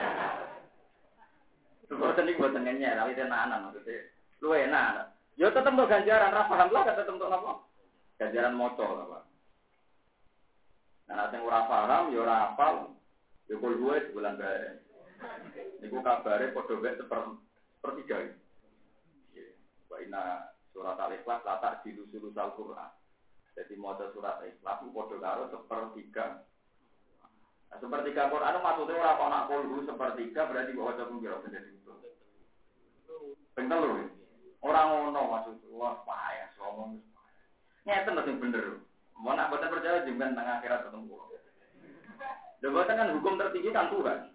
Bukan ini buat tengennya, tapi tenanan maksudnya, lu enak. Yo tetap mau ganjaran, paham lah, tetap untuk apa? Ganjaran moco lah, Pak. Nah, nanti ora paham, yo ora hafal, yo kul gue sebulan bae. Niku kabare padha wek sepertiga. Wa inna surat Al-Ikhlas latar di sulus Al-Qur'an. Jadi maca surat Al-Ikhlas padha karo sepertiga. Nah, sepertiga Quran maksudnya ora ana kulhu sepertiga berarti kok waca pira bener itu. Bener lho. Ora ngono maksud wah payah ngomong. Ngeten lho sing bener. Mau nak boten percaya jenengan nang akhirat ketemu. Lha boten kan hukum tertinggi kan Tuhan.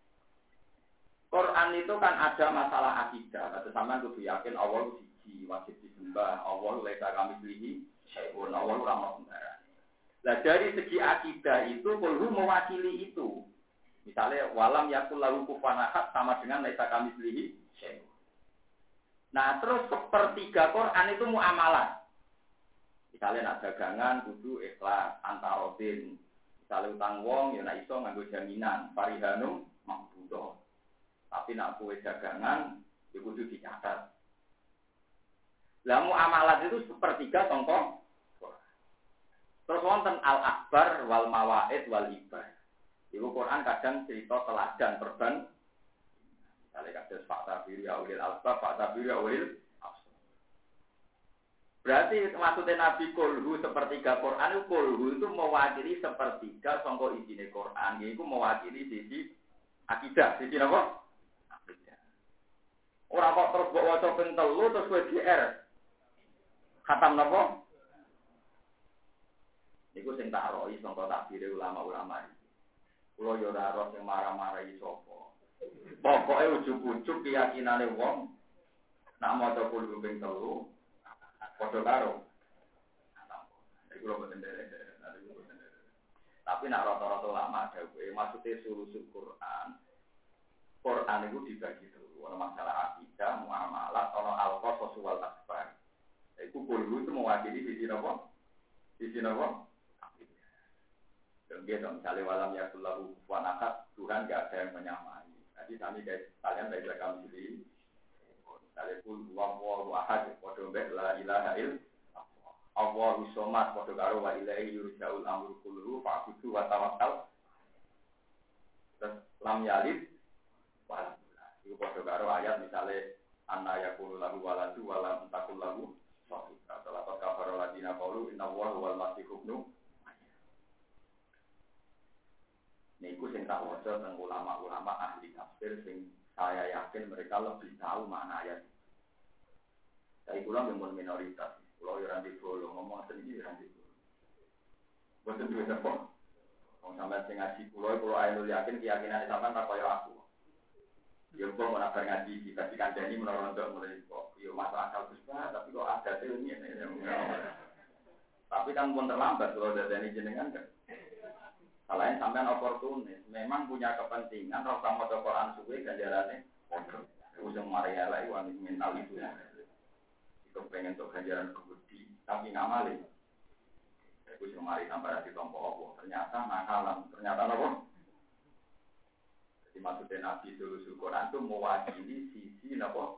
Quran itu kan ada masalah akidah, atau sama kudu yakin Allah siji, wajib disembah, Allah laisa kamitslihi syai'un, Allah ora ono sembarang. Nah dari segi akidah itu kulhu mewakili itu. Misalnya walam yakul lahu kufuwan ahad sama dengan laisa kamitslihi syai'un. Nah terus sepertiga Quran itu muamalah. Misalnya nak dagangan kudu ikhlas antarodin. Misalnya utang wong ya nak iso nganggo jaminan, parihanum maqbudah. Tapi nak kue dagangan, itu kudu dicatat. Lah muamalat itu sepertiga contoh. Terus wonten al-akbar wal mawaid wal ibar. Iku Quran kadang cerita teladan perban. Misalnya kados fakta biru awil al-bab, fakta biru awil al-bab. Berarti maksudnya Nabi kulhu sepertiga Quran itu kulhu itu mewakili sepertiga contoh isine Quran. Itu mewakili sisi akidah, sisi apa? Orang kok terus bawa waca ping 3 terus kowe GR. Khatam napa? Niku sing tak rohi sangka takbire ulama-ulama iki. Kula yo ora roh sing marah-marahi sapa. Pokoke ujug-ujug keyakinane wong nak maca kulo ping 3 padha karo. Iku lho boten derek. Tapi nak rata-rata ulama dawuhe maksude sulusul Quran. Quran itu dibagi terus. Ada masalah akidah, muamalah, ada al-qasas wal akbar. Itu kulhu itu mewakili sisi apa? Sisi nopo? Dia misalnya walam ya kullahu kufuwan ahad, Tuhan nggak ada yang menyamai. Jadi kalian dari kami sendiri. Misalnya kul huwallahu ahad, padha mbek la ilaha illallah. Allahu somad, padha karo wa ilaihi yurja'ul amru kulluhu fa'budu wa tawakkal. Terus lam yalid walam yulad. Iku padha karo ayat misalnya anna yakunu lahu waladu wa lam takul lahu sahibah. Salah kafara ladina qalu innallaha huwal masihub ibnu. Niku sing tak waca teng ulama-ulama ahli tafsir sing saya yakin mereka lebih tahu makna ayat. Saya kula memang minoritas. Kula yo ra dibolo ngomong sendiri ra dibolo. Boten duwe apa. Wong sampeyan sing ngaji kula ayo yakin keyakinan sampean tak kaya aku. Yo kok ora bar ngaji dadi kandhani menawa untuk mulai kok yo masuk akal Gus tapi kok ada ilmiah. Tapi kan pun terlambat kalau dadani jenengan kan. Selain sampean oportunis, memang punya kepentingan roh sama Quran suwe ganjarannya bodoh. Usung Maria lah iwan mental itu. Itu pengen untuk ganjaran kebudi, tapi nggak malih. Usung Maria sampai di tompo Allah. Ternyata nakalan, ternyata apa? Jadi maksudnya Nabi Sulusul Quran itu mewakili sisi apa?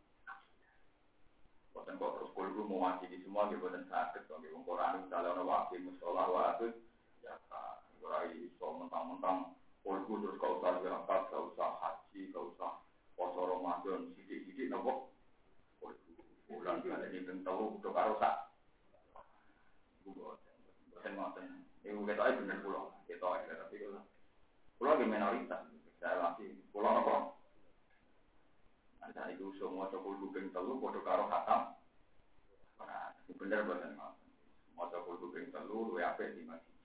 Bukan kok terus kulo mewakili semua, bukan sakit. Kalau Quran misalnya orang wakil musola wakil, ya Rai so mentang-mentang polku terus kau usah zakat, kau usah haji, kau usah puasa Ramadan sidik-sidik nopo. Bulan kali ini tahu udah karo sak. Bosen ngoten. Iku ketoke bener kula. Ketoke tapi kula ge minoritas. Saya lagi kula nopo. Ada itu semua cokul kuping telu padha karo khatam. Ora bener boten ngoten. Maca kuping telu luwih apik di masjid.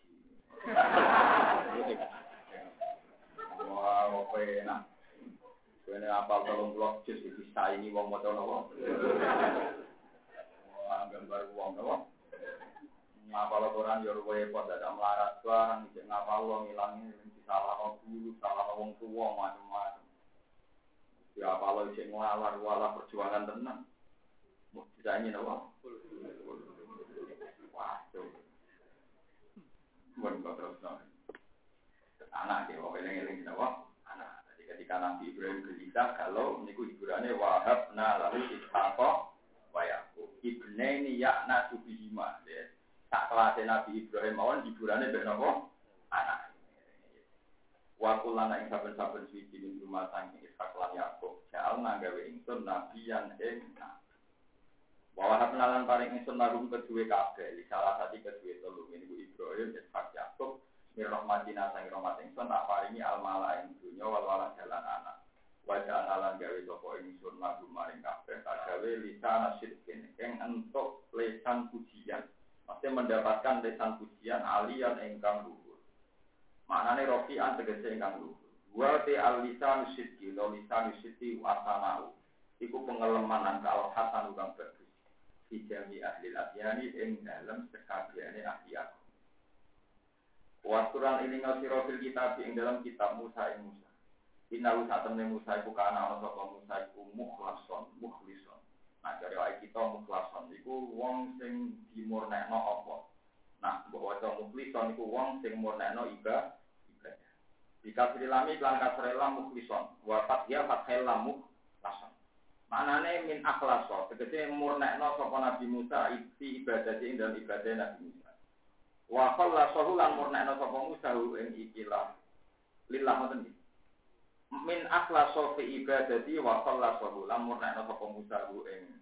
Wah, apa enak. Kene apal 30 juz bisa ini wong maca napa? Wah, gambar wong napa? Ngapal Quran yo repot dadak melarat barang iki ngapal lo ngilangi salah guru, salah wong tuwa macam-macam. Ya apal lo sing nglalar perjuangan tenan. Mau disanyi napa? Waduh. Bukan terus anak dia, eling-eling apa? Anak. Jadi ketika Nabi Ibrahim gelisah, kalau niku hiburannya Wahab, lalu Ishaq, wa Yaqub. Ibnaini ya'na subihima. Tak kelas Nabi Ibrahim awan hiburannya benapa? Anak. Wa kulana ing saben-saben suci min rumah saking Ishaq lan Yaqub. Ja'al nanggawe ingsun nabiyan ing Wahab nalan paring ingsun lagu kedue kabeh, salah satu kedue telu niku Ibrahim Ishaq Yaqub mirrahmatina sang rahmat ingsun tak paringi almala ing dunya wal jalan anak. Wajah nalan gawe sapa ingsun lagu maring kabeh gawe lisan sidqin ing entuk lesan pujian. Maksudnya mendapatkan lesan pujian aliyan ingkang luhur. Maknane rofi'an tegese ingkang luhur. Wa te al-lisan sidqi, lisan sidqi wa sanau. Iku pengelemanan kalau hasan kang bagus. Di jami ahli adyani ing dalam sekabehane ahli aku. Wasuran ini ngasiro fil kitab ing dalam kitab Musa ing Musa. Innahu satamne Musa iku kana ana sapa Musa iku mukhlison. Nah dari ayat kita mukhlason iku wong sing dimurnekno apa. Nah mbok waca mukhlison iku wong sing murnekno ibadah. Dikasri lami lan kasri lam mukhlison. Wa fathia fathil lam mukhlason. Manane min akhlaso, tegese murnekno sapa Nabi Musa ibadah ing dalam ibadah Nabi Musa. Wa khallasahu lan murnekno sapa Musa ing ikilah lillah ngoten iki. Min akhlaso fi ibadati wa khallasahu lan murnekno sapa Musa ing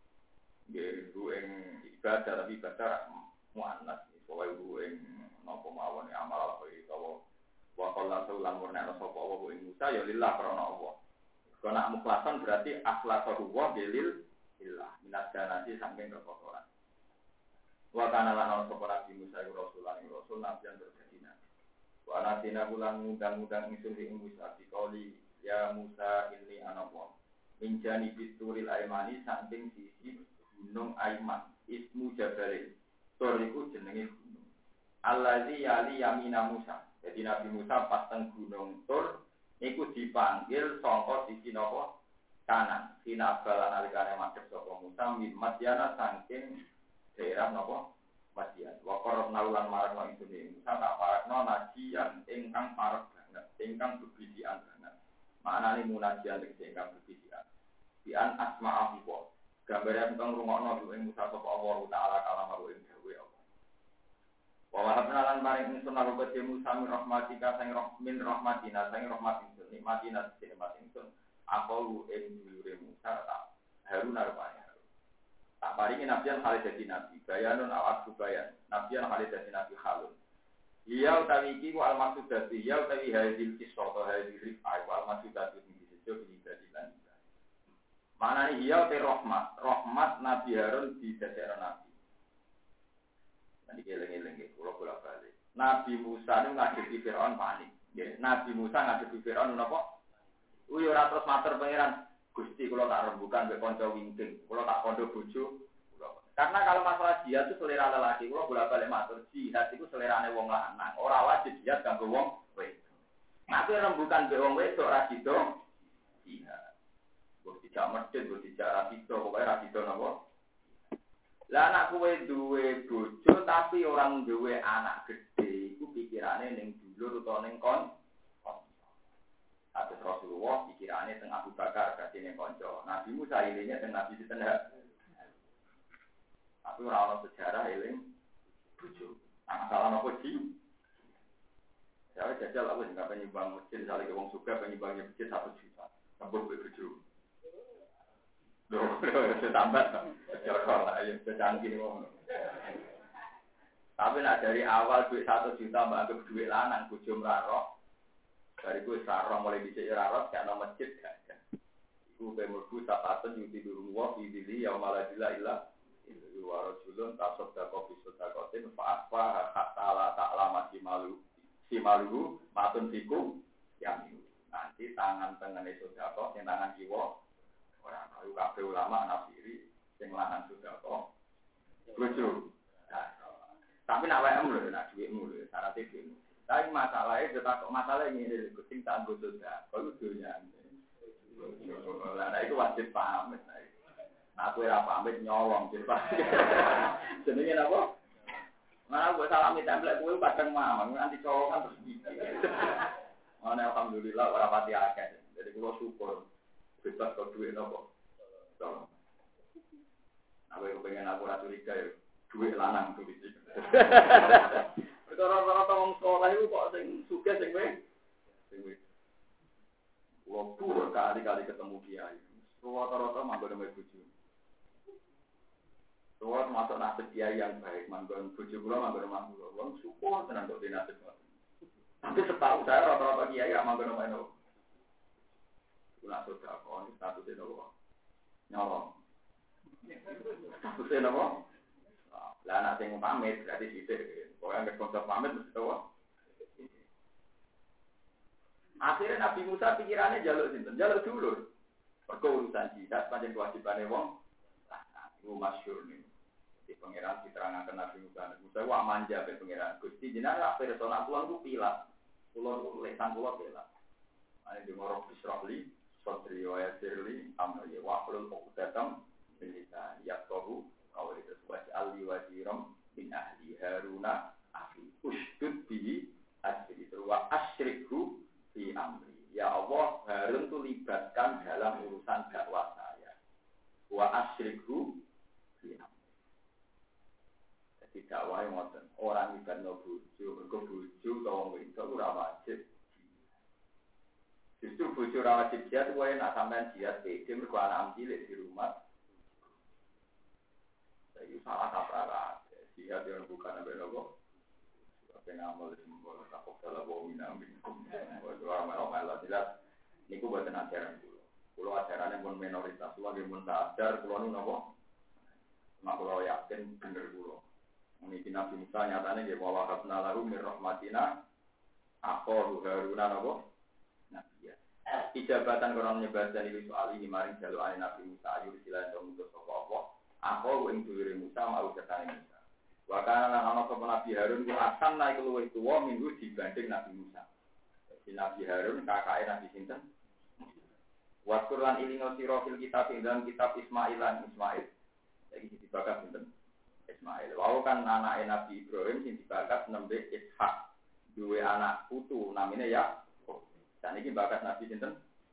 ibadah tapi ibadah muannas pokoke ing napa mawon amal apa utawa wa khallasahu lan murnekno sapa ing Musa ya lillah krana Allah. Kena mukhlasan berarti akhlasahu wa bilil illah minat janati saking kekotoran. Wa kana lan sapa Nabi Musa rasul nabiyan berkedina. Wa anatina bulan mudang-mudang ingsun ing Musa dikoli ya Musa inni ana wa min janibi turil aymani saking sisi gunung Aiman ismu Jabalil. Tur iku jenenge gunung. Allazi yali yamina Musa. Jadi Nabi Musa pas teng gunung Tur niku dipanggil sangka sisi napa kanan. Sinabalan alikane madhep sapa Musa min Madyana saking daerah napa Fasian. Wakor naulan marakno ingsun Musa tak parakno najian ingkang parek banget, ingkang bebisian banget. Maknane munajian tegese ingkang bebisian. Bian asma'a biwa. Gambare engkang rungokno ing Musa sapa Allah taala kalamaru ing dawuh Allah. Wa wahabna lan paring ingsun lan kedhe Musa min rahmatika sang min rahmatina sang rahmat ingsun nikmatina nikmat ingsun. Aku ing dhuwure Musa tak Harun arepane. Tak paringi nabiyan kali dadi nabi, bayanun awak bayan. Nabiyan kali dadi nabi halun. Iya utawi iki ku al-maksud dadi ya utawi hadil kisah atau hadil rifai wal maksud dadi disejo dadi lan. Manane iya te rahmat Nabi Harun didadekno nabi. Nanti eling-eling kula bolak-balik. Nabi Musa niku ngadepi Firaun panik. Nggih, Nabi Musa ngadepi Firaun napa? Yo ora terus matur pangeran. Gusti kula tak rembukan mbek kanca wingking, kula tak kondo bojo. Karena kalau masalah jihad itu selera lelaki, kula bolak-balik matur, jihad itu selerane wong lanang, ora wajib jihad kanggo wong wedok. Tapi rembukan mbek wong wedok ora sida jihad. Mbok dijak medhit, mbok dijak ra sida, pokoke ra sida napa. Lah anak kowe duwe bojo tapi orang duwe anak gede, iku pikirane ning dulur utawa ning kon. Atas Rasulullah pikirannya teng Abu Bakar kasine kanca. Nabi Musa ilingnya teng Nabi sinten ha. Tapi ora ono sejarah eling bojo. Masalah nopo sih? Saya jajal aku sing kapan nyumbang masjid sale wong suka penyumbangnya masjid 1 juta. Tambah bojo. Loh, tambah. Joro lah ya canggih wong. Tapi nak dari awal duit 1 juta mbak anggap duit lanang bojo mraro. Dari gue sarong mulai dicek raros karena masjid kan. Iku pemurku sapatun yuti durungwa idili yang malah ilah itu warajulun tasaddaqa bi sadaqatin fa asfa hatta la ta'lama si malu matun fikum yang itu. Nanti tangan tengene sedekah sing tangan kiwa ora kaya kabeh ulama nafsiri sing lanang sedekah. Bojo. Tapi nak wae lho nak dhuwitmu lho syaratnya dhuwitmu. Tapi masalahnya, tetap masalah ini kucing tak anggota dah. Kalau dunia ini, nah itu wajib pamit. Nah aku yang pamit nyolong cepat. Jadi apa? Mana gue salami template gue kadang mama, nanti colongan terus gigi. Mana alhamdulillah orang pati akeh. Jadi gue syukur bebas kau duit apa? Tolong. Aku pengen aku curiga ya, duit lanang tuh di sini. Rata-rata wong sekolah itu kok sing sugih sing wae. Wong tuwa kali-kali ketemu kiai. Rata-rata manggon mbek bojo. Tuwa masuk nasib kiai yang baik, manggon bojo kula manggon omah kula. Wong syukur tenan kok dinasib. Tapi setahu saya rata-rata kiai gak manggon omah kula. Kula sudah kon statusnya nopo? Nyolong. Statusnya nopo? Lah anak sing pamit berarti sithik. Orang yang konsep pamit mesti tahu. Akhirnya Nabi Musa pikirannya jaluk sinten, jaluk dulur. Mergo urusan jihad pancen kewajibane wong. Nah, itu masyhur nih. Di pangeran diterangkan Nabi Musa. Musa wa manja be pangeran. Gusti jenengan persona kula ku pilat. Kula lesan kula pilat. Ane di ngoro bisrohli, sotri wa yasirli, amri wa qul uqdatam min lisan yaqulu qawli taswaj alli wajiram min ahli Haruna akhi usdud bihi asri wa asyrikhu fi amri. Ya Allah, Harun itu libatkan dalam urusan dakwah saya. Wa asyrikhu fi amri. Jadi dakwah yang ngoten, orang libatno bojo, mergo bojo utawa wedok ora wajib. Justru bojo ora wajib jihad kuwi nek sampean jihad pede mergo anak cilik di rumah. Jadi salah kaprah. Jihad yang bukan apa nopo, apa ngamal simbol takut dalam bumi nabi. Orang melo jelas. Niku buatan ajaran dulu. Kalau ajarannya pun minoritas, lagi pun tak ajar. Kalau nu nopo, mak kalau yakin bener dulu. Mungkin Nabi Musa nyatanya dia bawa habna lalu mirrahmatina, aku Haruna nopo. Nah iya. Ijabatan koran nyebadan itu soal ini maring jalur Nabi Musa ayu silakan untuk apa. Aku yang dulu Musa mau ketanya Musa. Wakana lan ana sapa Nabi Harun ku asan naik luwih tuwa minggu dibanding Nabi Musa. Jadi Nabi Harun kakake Nabi sinten? Wa Qur'an ilingo sira fil kitab ing dalam kitab Ismail lan Ismail. Iki dibakar sinten? Ismail. Wau kan anake Nabi Ibrahim sing dibakat nembe Ishak. Duwe anak putu namine Yakub. Dan iki bakat Nabi sinten?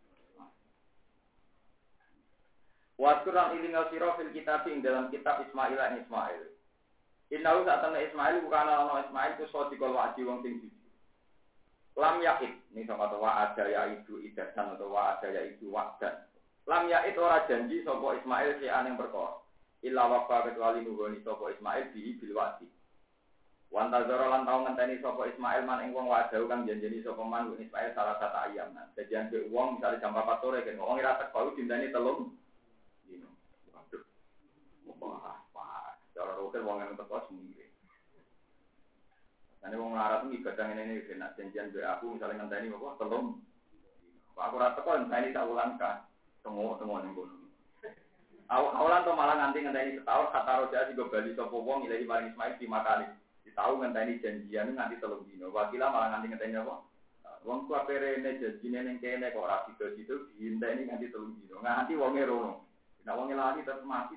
Wa Qur'an ilinga sira fil kitab ing dalam kitab Ismail lan Ismail. Innahu satana Ismail bukan ana Ismail ku sadiqul wa'di wong sing jujur. Lam yaqid ning sapa wa ada ya itu idasan atau wa ada ya itu wa'dan. Lam yaqid ora janji sapa Ismail si aneng perkara. Illa waqa kecuali nuhoni sapa Ismail bi bil wa'di. Wan tazara lan tau ngenteni sapa Ismail man ing wong wa'da kang janjeni sapa man Ismail salah satu ayam. Janjian be wong misale jam 4 sore kan wong ora teko dinteni 3 dino. Waduh. Wah, cara rokil wong yang teko seminggu. Ane wong larat iki kadang ngene iki nek janjian be aku misale ngenteni apa 3 dino. Aku ora teko ngenteni tak ulang ka. Tengok ning kono. Awalan to malah nganti ngenteni setahun kata roja sing bali sapa wong ilahi maring Ismail di makane. Ditau ngenteni janjian nganti 3 dino. Wakila malah nganti ngenteni apa? Wong ku aperene janjine ning kene kok ora sido-sido diinteni nganti 3 dino. Nganti wonge rono. Nek wonge lali terus mati.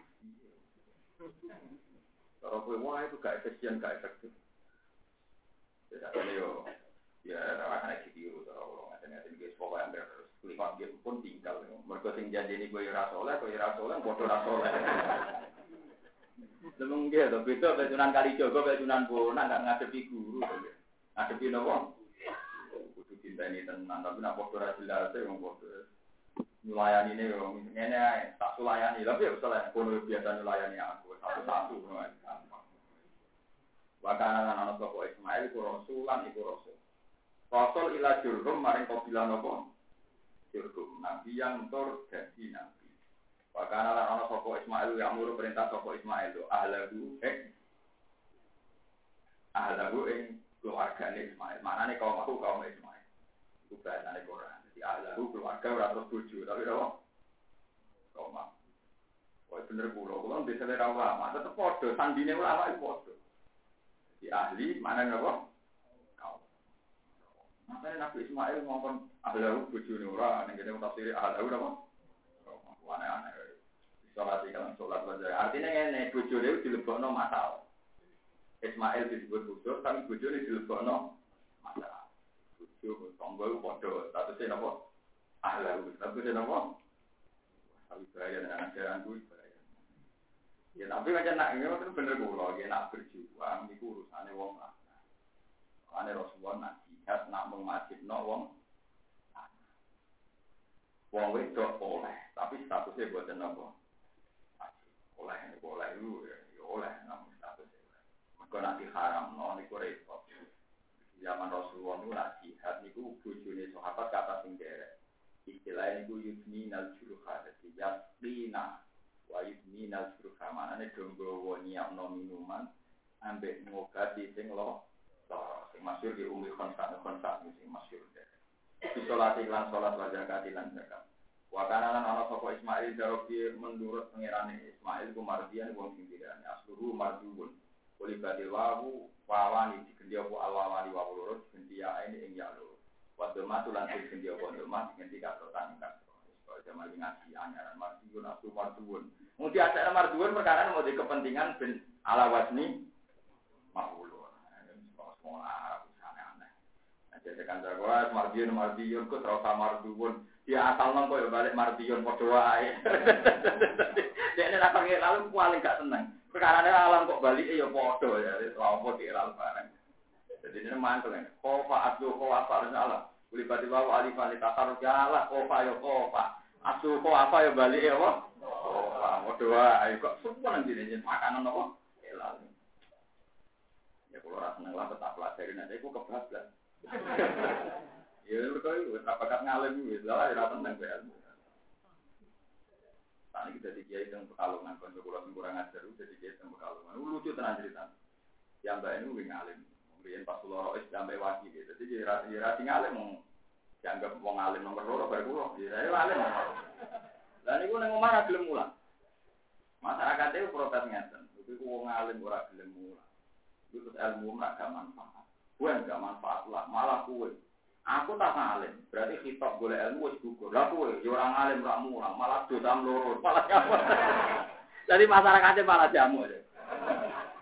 Kalau kowe wae itu gak efisien, gak efektif. Ya akan video kalau ngaten-ngaten guys pokoknya terus klik dia pun tinggal. Mergo sing janjeni kowe ora saleh, padha ora saleh. Demung ge to beda betunan kali Jogo betunan bonak gak ngadepi guru to. Ngadepi napa? Kudu dinteni tenan tapi nek padha ora jelas e wong padha nyulayani ne yo ngene ae tak sulayani lha piye saleh kono biasa nyulayani aku satu-satu ngono. Wakana ana sapa Ismail ku rasulan iku rasul. Rasul ila Jurhum maring kabilah napa? Jurhum. Nabi yang tur dadi nabi. Wakana ana sapa Ismail yang muru perintah sapa Ismail tu ahlahu keluargane Ismail. Manane kaum Ismail. Iku bahasane Quran. Jadi ahlahu keluarga ora terus bojo, tapi apa? Kaum. Wah bener kula desa ra ulama, tetep padha sandine ulama iku padha. Di ahli mana napa? Kau. Makanya Nabi Ismail ngomong ahlahu bojone ora ning kene tafsir ahlahu napa? Aneh-aneh. Salat iki salat wae. Artine ngene bojone dilebokno masalah. Ismail disebut bojo tapi bojone dilebokno masalah. Bojo tangga padha statusé napa? Ahlahu. Statusé napa? Tapi bahaya dengan ajaran kuwi. Ya tapi macam nak ini kan bener kula, ya nak berjuang niku urusane wong lanang. Ane Rasulullah nak jihad nak mengwajibno wong lanang. Wong wedok oleh, tapi statusnya boten napa. Oleh itu ya oleh namun statusnya. Mergo nak diharamno niku repot. Zaman Rasulullah niku nak jihad niku bojone sahabat kata sing derek. Istilah niku yudminal juruha dadi yaqina. Wa yudminal juruha manane donggo nyiapno minuman ambek ngobati sing sing masyhur di Ummi Khansa sing masyhur. Salat iklan salat wa zakat lan zakat. Wa kana lan ana sapa Ismail darobi menurut pangerane Ismail ku mardian wong sing dirane asluhu marduun. Kulibati wawu wawani digendi apa alwawani wawu loro digendi ya ini ing ya loro. Wa domatu lan digendi apa domah digendi katrotan kan. Zaman ngaji anyaran marduun aslu marduun. Mesti ada marduun perkara mau di kepentingan ben ala wasni mahulun. Semua Arab aneh-aneh. Jadi kan jagoan mardiun ku terus marduun. Dia asal nang koyo balik mardiun padha wae. Dekne ra pengen lalu paling gak seneng. Perkarane alam kok balike ya padha ya, apa kira barang. Jadi ini mantul kan. Kofa aslu kofa salah. Kulibati wa alifan litakar jalah kofa yo kofa. Aslu kofa yo balike apa? Padha wae kok semua nang dene makanan apa? Elal. Ya kalau ora seneng lah tetap pelajari nek iku kebablas. Ya mergo iku tak bakat ngalim wis lah ora tenang kowe. Tadi kita dikiai teng Pekalongan kon kula sing kurang ajar dadi kiai teng Pekalongan. Lucu tenan cerita. Ya mbak ini wing ngalim. Mriyen pas kula wis sampe waki gitu. Dadi ra ngalim dianggap wong alim nomor 2 bar kula. Ya alim. Lah niku nang omah ra gelem mulang. Masyarakat itu protes ngeten. Iku wong alim ora gelem mulang. Iku ilmu ora gak manfaat. Kowe gak manfaat lah, malah kowe. Aku tak alim, berarti khitab golek ilmu wis gugur. Lah kowe yo ora alim ora mulang, malah dosa loro. Malah jamu. Jadi masyarakatnya malah jamu.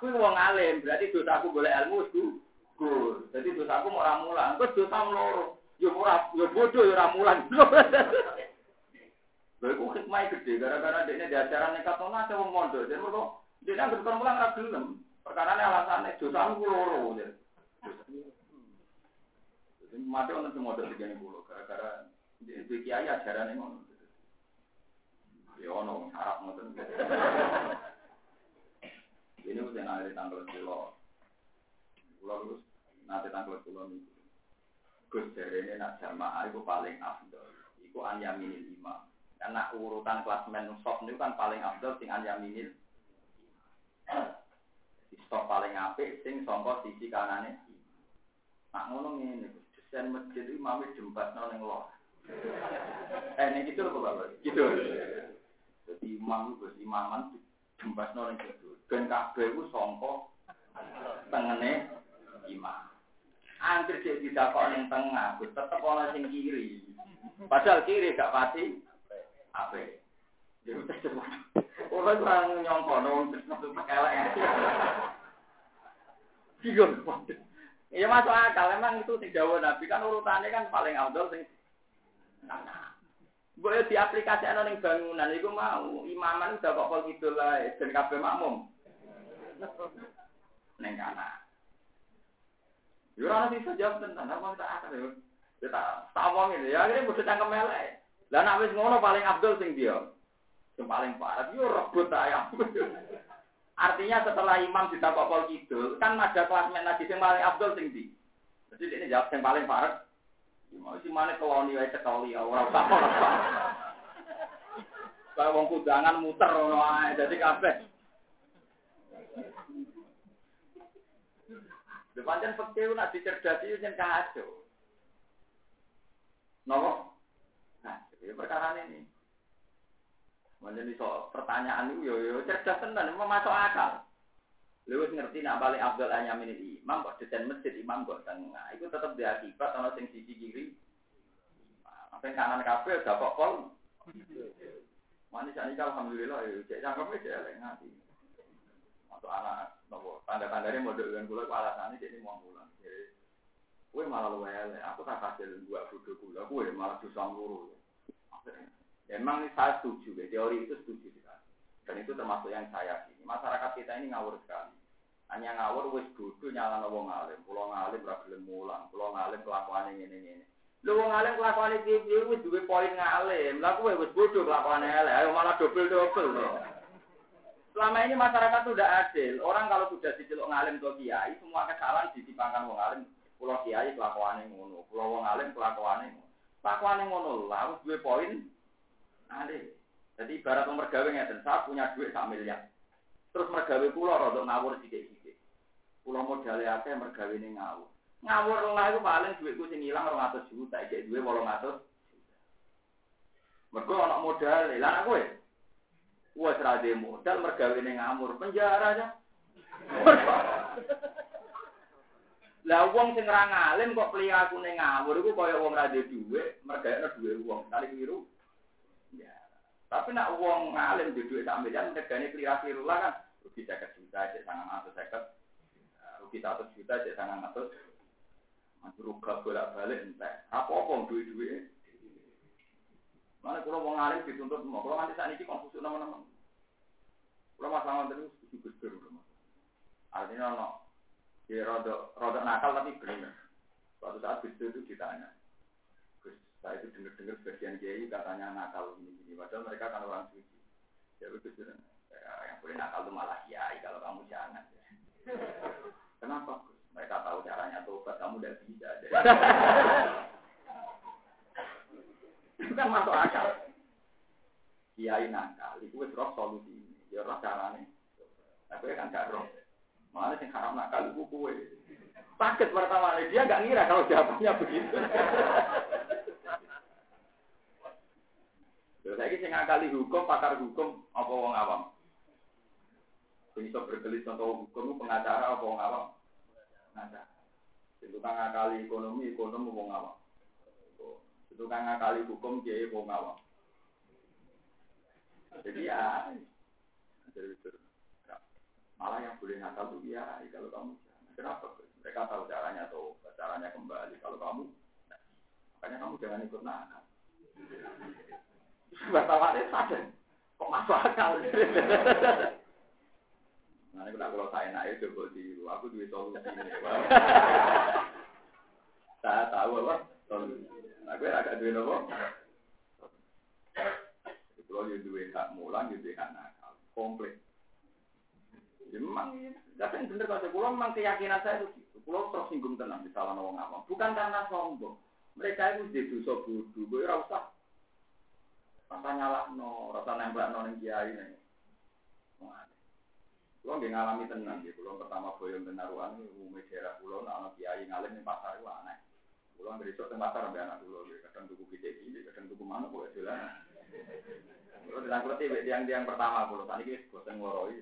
aku wong alim, berarti dosaku golek ilmu gugur. Jadi dosaku mau ora mulang, terus dosa loro. Yo ora yo bodoh yo ora mulang. Lha iku hikmah gede gara-gara dekne diajaran nekat ono ada wong mondok. Jadi mergo dekne anggere kon mulang ora gelem. Perkarane alasane dosaku loro. Jadi mate ono sing mondok digene kula gara-gara iki kiai ajarane ngono. Ya ono harap ngoten. Ini udah nanti tanggal pulau terus nanti tanggal pulau ini. Gus dari ini nak jamaah itu paling afdol. Itu anyaminil imam. Karena urutan klasmen stop itu kan paling afdol sing anyaminil. Di stop paling apik sing songkok sisi kanane. Nak ngono ngene Gus. Desain masjid itu imame jembatno ning lor. Ini gitu loh Bapak. Gitu. Jadi imam Gus imaman jembatno ning gitu. Ben kabeh ku sangka tengene imam. Angger cek didakok ning tengah, wis tetep ana sing kiri. Padahal kiri gak pati ape. Yo tetep. Ora kurang nyongkono tetep elek. Bingung. Ya masuk akal, memang itu sing dawuh Nabi kan urutannya kan paling afdal sing boleh diaplikasikan ning bangunan iku mau imaman udah kok pol kidul lae ben kabeh makmum. Neng kana. Yo ora bisa jawab tenan, apa tak akal yo. Kita tawong ini, ya akhirnya bodoh cangkem elek. Lah nek wis ngono paling afdol sing dia. Sing paling parah yo rebut ayam. Artinya setelah imam ditakok pol kidul, kan ada kelas menasi sing paling afdol sing ndi. Jadi ini jawab sing paling parah. Mau si mana koloni wae cekoli ora usah ora. Lah wong kudangan muter ngono ae dadi kabeh. Depan fakir nak dicerdasi yen kacau. Napa? Nah, iki perkara ini. Menjadi soal pertanyaan itu yo cerdas tenan, masuk akal. Lewis ngerti nak balik Abdul Anyamin imam kok desain masjid imam kok tengah. Itu tetap diakibat ana sing sisi kiri. Apa kanan kabeh udah kok pol. Manis ani alhamdulillah yo cek cangkeme cek elek ngati. Untuk anak nopo tanda-tandane model dengan kula alasane cek mau pulang. Kowe malah luwe elek, aku tak hasil buat bodoh kula, kowe malah dosa loro. Memang saya setuju, teori itu setuju sekali. Dan itu termasuk yang saya sini. Masyarakat kita ini ngawur sekali. Hanya ngawur wis bodoh nyalano wong alim. Pulau ngalim ra gelem mulang, pulau ngalim kelakuane ngene-ngene. Lho wong alim kelakuane piye wis duwe poin ngalim. Lah kowe wis bodoh kelakuane elek, ayo malah dobel-dobel. Selama ini masyarakat itu sudah adil. Orang kalau sudah diceluk ngalim atau kiai, semua kesalahan ditimpakan wong alim. Pulau kiai kelakuane ngono, pulau wong alim kelakuane ngono. Kelakuane ngono lah wis duwe poin alim. Jadi ibarat mergawe ngeten, saya punya duit 1 miliar. Terus mergawe kula rada ngawur sithik-sithik. Kula modale akeh mergawe ning ngawur. Ngawur lah iku paling duitku sing ilang 200 juta, iki duwe 800. Mergo ana modal, lah kowe. Wes ra de modal mergawe ning ngawur, penjara aja. Lah wong sing ra ngalim kok priyaku ning ngawur iku kaya wong ra de dhuwit, mergawe dhuwit wong, kali keliru. Tapi nak uang ngalim di duit 1 miliar, negara keliru lah kan. Rugi 50 juta, cek 950. Rugi 100 juta, cek 900. Ruga bolak-balik entek. Apa-apa duit-duit. Mana kalau uang ngalim dituntut semua. Kalau nanti saat ini konfusi nama-nama. Kalau masalah terus, gus-gus. Artinya no. Dia rodok nakal tapi benar. Suatu saat gus itu ditanya. Saya itu dengar sebagian kiai katanya nakal ini. Padahal mereka kan orang suci. Ya begitu. Yang boleh nakal itu malah kiai. Kalau kamu jangan. Kenapa? Mereka tahu caranya tobat. Kamu udah bisa. Itu kan masuk akal. Kiai nakal. Itu roh solusi ini. Ya roh caranya. Tapi kan gak roh. Malah yang haram nakal itu kue. Sakit pertama. Dia gak ngira kalau jawabannya begitu. Saya ini ngakali hukum, pakar hukum, apa wong awam? Bisa berkelit contoh hukum, pengacara apa wong awam? Pengacara. Itu kan ngakali ekonomi wong awam. Itu kan ngakali hukum, dia wong awam. Jadi ya, Malah yang boleh nakal tuh kiai kalau kamu jangan. Kenapa? Mereka tahu caranya tuh, caranya kembali. Kalau kamu, makanya kamu jangan ikut nakal. Wartawan sadar, kok masuk akal? Nah, ini kalau saya naik coba dulu, aku duit solusi ini. Saya tahu apa? Solusi. Nah, gue agak duit apa? Kalau you duit hak mulang, you duit hak nakal, komplit. Memang, tapi bener kalau saya memang keyakinan saya itu, kalau tersinggung tenang di salah orang awam, bukan karena sombong. Mereka itu jadi dosa bodoh, gue rasa nyala rasa nembak yang kiai nih. Kalau nggak ngalami tenang, kalau pertama boyong tenaruan, umumnya daerah pulau, anak kiai ngalim di pasar itu aneh. Kalau berisok di pasar sampai anak pulau, kadang tuku BCI, kadang tuku mana boleh jalan. Kalau ditangkut yang pertama pulau, tadi kita bosan ngoroi.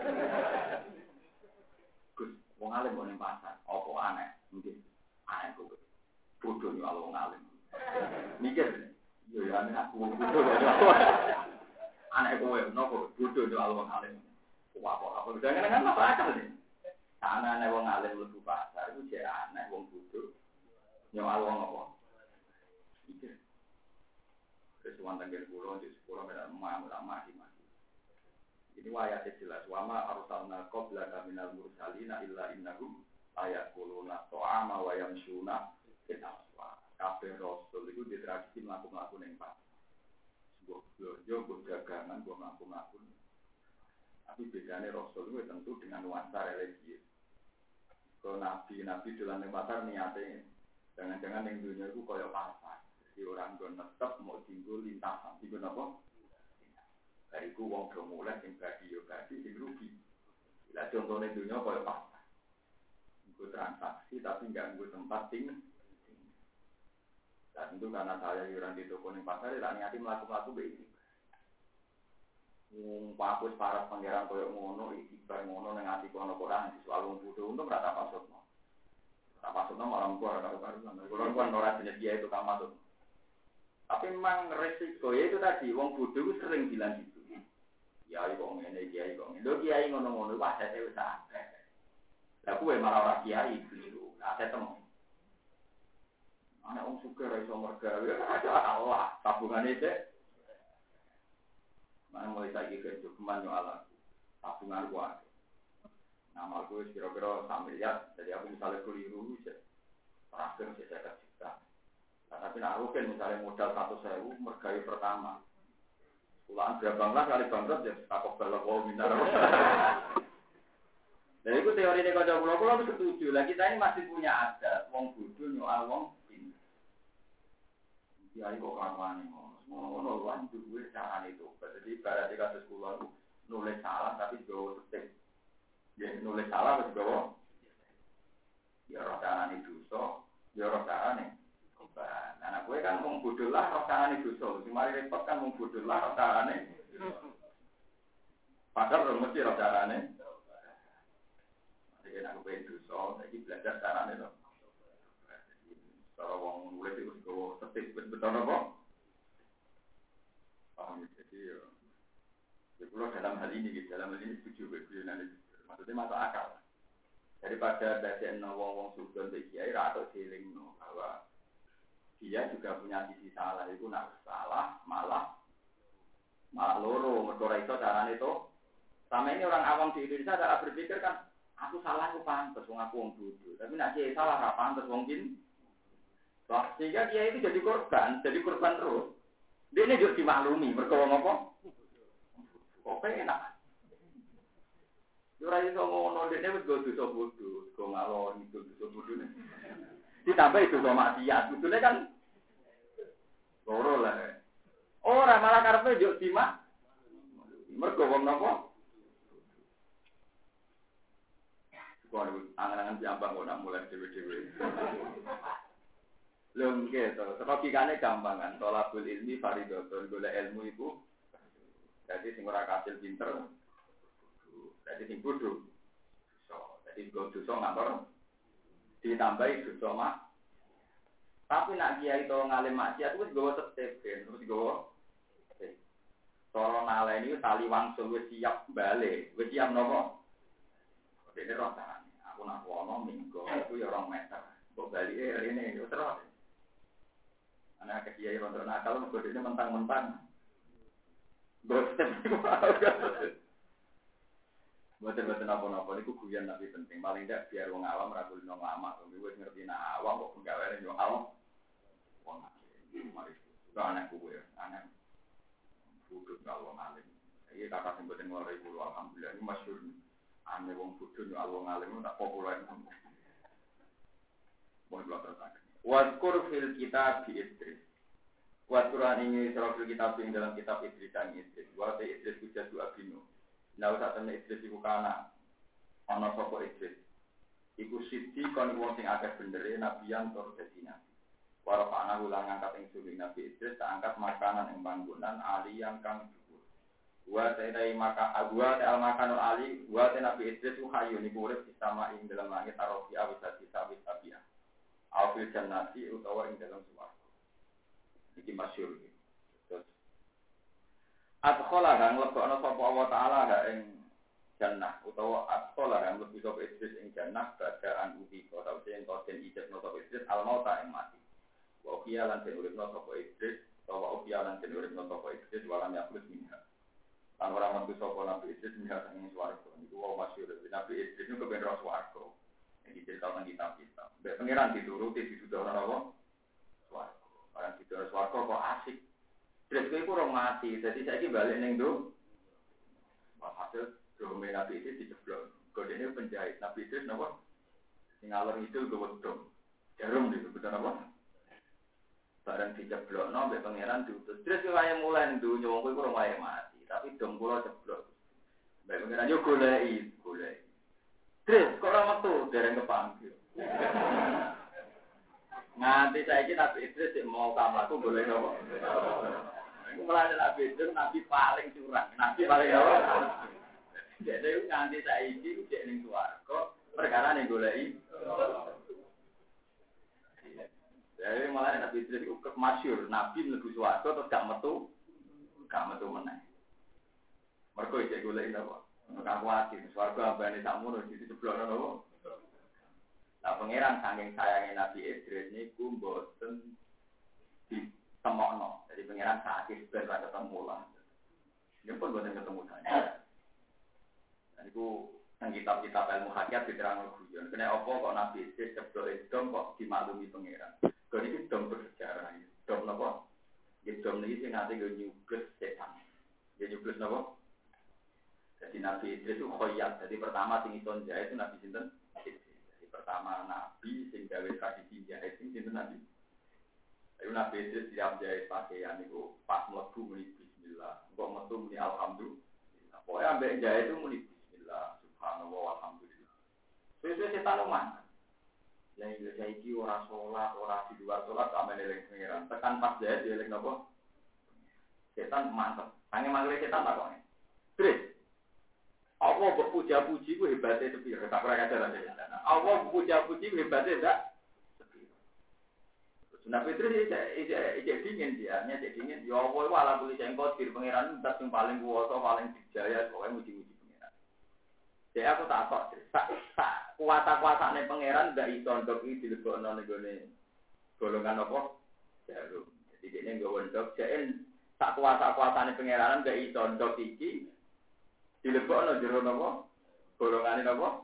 Gus, wong alim mau di pasar, apa aneh, mungkin aneh kok. Bodoh nih kalau wong alim. Mikir, ya aneh aku bodoh. Aneh kowe, nopo bodoh nih kalau wong alim. Apa jangan kan masuk akal nih. Karena aneh wong alim mlebu pasar itu jek aneh wong bodoh. Nyawal wong apa? Mikir. Kesuwan tanggal pulau di sekolah mereka mati. Ini wayatnya jelas. Wama arsalna qablaka minal mursalina illa innahum ayakuluna to'ama wa yamsuna fil aswaq. Kabeh rasul itu di tradisi mlaku-mlaku ning pasar. Sebuah belanja, sebuah dagangan, sebuah mlaku-mlaku. Tapi bedanya rasul itu tentu dengan nuansa religius. Kalau nabi dalam ning pasar niatnya jangan-jangan ning dunia itu kaya pasar. Jadi orang gon tetep mau tinggal lintasan. Tinggal apa? Bariku wong do mulai sing badi yo badi sing rugi. Lah contone dunya koyo pasar. Nggo transaksi tapi enggak nggo tempat ting. Dan itu karena saya yuran di toko ning pasar ya niati mlaku-mlaku begini. Papus para pangeran koyo ngono iki bar ngono ning ati kono Quran selalu bodho untuk rata pasutno. Rata pasutno malah kuwi ora karo-karo. Kulo kan ora jenis dia itu kan masuk. Tapi memang resiko ya itu tadi wong bodho itu sering bilang gitu. Kiai kok ngene, kiai kok ngene. Lho kiai ngono-ngono wae asete wis akeh. Lah kuwe malah ora kiai keliru. Aset temu. Ana wong sugih ra iso mergawe, ada Allah, tabungane sik. Mana mulai saiki kerja keman yo ala. Tabungan kuwi. Nama aku kira-kira sambil ya, jadi aku misalnya keliru wis terakhir saya juta. Nah, tapi nak rugen misalnya modal 100.000 mergawe pertama. Pulaan berapa kali bangkrut ya takut balap wong minta. Jadi itu teori ini kalau pulau setuju. Lah kita ini masih punya adat wong bodoh nyoal wong pinter. Kiai kok karuan ngono lan duwe carane itu. Jadi berarti kasus pulau nulis salah tapi do tetep. Ya nulis salah wis go. Ya ora carane dosa, ya ora carane. Nah, gue kan wong bodoh lah rasane dosa. Sing mari repot kan wong bodoh lah rasane. Padahal mesti rasane. Jadi aku pengen dosa, iki belajar carane to. Cara wong nulis itu go tetep betul apa? Paham jadi ya. Kalau dalam hal ini setuju begini maksudnya masuk akal. Daripada dadekno wong-wong sugih mbek kiai ra tok dilingno bahwa dia juga punya sisi salah, itu nak salah malah loro, mergo iso carane itu. Sama ini orang awam di Indonesia cara berpikir kan, aku salah aku pantes wong aku wong bodoh. Tapi nak dia salah ra pantes wong kin. Sehingga dia itu jadi korban terus. Dia ini juga dimaklumi, mergo wong apa? Kok enak. Ora iso ngono, dene wis go dosa bodoh, go ngalor itu dosa bodoh. Ditambah itu sama maksiat, betulnya kan loro lah. Ora malah karepe yo simak. Mergo wong napa? Kok angan-angan diambang kok nak mulai dhewe-dhewe. Lho nggih to, logikane gampang kan. Tolabul ilmi fardhon, golek ilmu iku. Jadi sing ora kasil pinter. Jadi sing bodoh. Jadi dosa ngapur. Ditambahi dosa mak. Tapi nak kiai to ngalim maksiat wis gowo tetep ben, terus gowo. Cara naleni tali wangsul wis siap bali, wis siap napa? Dene roh carane. Aku nak wono minggu itu ya 2 meter. Kok balike rene yo terus. Anak kiai rondo nakal mergo dene mentang-mentang. Boten. Boten apa-apa niku guyon tapi penting. Paling ndak biar wong awam ra kulino lama. Wis ngerti nak awam kok penggaweane yo awam. Wong mari. Anak kuwe, anak bodoh kalau ngalim. Iya kata sing boten ngore iku alhamdulillah ini masyhur. Ane wong bodoh yo alwong ngalim tak populer. Wong kula terus. Waskur fil kitab bi Idris. Waskuran ini surah fil kitab ing dalam kitab Idris sang Idris. Wa ta Idris kuja dua bino. Nah sak temne Idris iku kana ana sapa Idris. Iku siji kon wong sing akeh bendere nabiyan tur dadi nabi. Warafa'na ulang angkat ing suri Nabi Idris tak angkat makanan ing panggonan aliyan kang dhuwur. Wa ta'ai maka agwa ta'al makanul ali wa ta Nabi Idris hayu niku urip sama ing dalam langit arofia wis disawit tabiah. Aufil jannati utawa ing dalam swarga. Iki masyhur iki. Terus adkhala kang lebokno sapa Allah taala ing jannah utawa adkhala kang lebih sapa Idris ing jannah badaan uti utawa sing koden ijab sapa Idris al-mauta ing mati. Okia lan den uripno sapa Idris, utawa okia lan den uripno sapa Idris walam yakhlut minha. Lan ora metu sapa Nabi Idris minha ing swarga. Niku wae masyhur Nabi Idris niku kepen ro swarga. Iki cerita tentang kitab-kitab. Mbek pangeran dituruti dituduh ora apa? Swarga. Ora dituduh swarga kok asik. Idris kuwi ora mati, dadi saiki bali ning ndo. Hasil dome Nabi Idris diceblok. Godene penjahit Nabi Idris napa? Sing alor itu gowedong. Jarum disebut apa? Barang diceblokno mbek pangeran diutus. Terus kaya mulai ndunya wong kuwi ora wae mati, tapi dom kula ceblok. Mbek pangeran yo goleki. Terus kok ora metu dereng kepanggil. Nganti saiki Nabi Idris sik mau kamlaku golek apa? Iku mulane Nabi Idris nabi paling curang, nabi paling apa? Jadi nganti saiki sik ning swarga perkara ning goleki. Jadi malah Nabi Idris itu masyhur, Nabi mlebu swarga terus gak metu meneh. Mergo iki golek apa? Ora kuwatir, swarga ambane sakmono diceblokno napa? Lah pangeran saking sayange Nabi Idris niku mboten ditemokno. Jadi pangeran sakit ben ra ketemu lah. Dia pun boten ketemu saya. Dan itu nang kitab-kitab ilmu hakikat diterangno guyon. Kene apa kok Nabi Idris ceblok edom kok dimaklumi pangeran. Kalau ini dom bersejarah, dom apa? Dom ini sih nanti gue nyubles setan, dia nyubles apa? Jadi Nabi Idris itu khoyat. Jadi pertama sing ison jahit itu Nabi sinten. Jadi pertama Nabi sing gawe tradisi jahit sing sinten Nabi. Lalu Nabi Idris siap jahit pakaian itu pas mlebu muni bismillah, kok metu muni alhamdulillah. Pokoknya ambek jahit itu muni bismillah, subhanallah, alhamdulillah. Sesuai setan umat. Yang Indonesia iki ora sholat, ora di luar sholat, gak meneling pengiran. Tekan pas jahit, dieling apa? Setan mantep. Hanya manggil setan tak kok. Terus, Allah berpuja-puji ku hebatnya sepi. Tak pernah kajaran setan. Allah berpuja-puji ku hebatnya tak sepi. Nabi Idris ijek dingin dia, ijek dingin. Ya Allah, wala boleh cengkot, diri pengiran itu yang paling kuasa, paling dijaya, pokoknya muji-muji. Jadi aku tak kok, tak kuasa-kuasane pangeran ndak iso ndok iki dilebokno ning gone golongan apa? Jarum. Jadi dene nggo ndok jek tak kuasa-kuasane pangeran ndak iso ndok iki dilebokno jero napa? Golongane napa?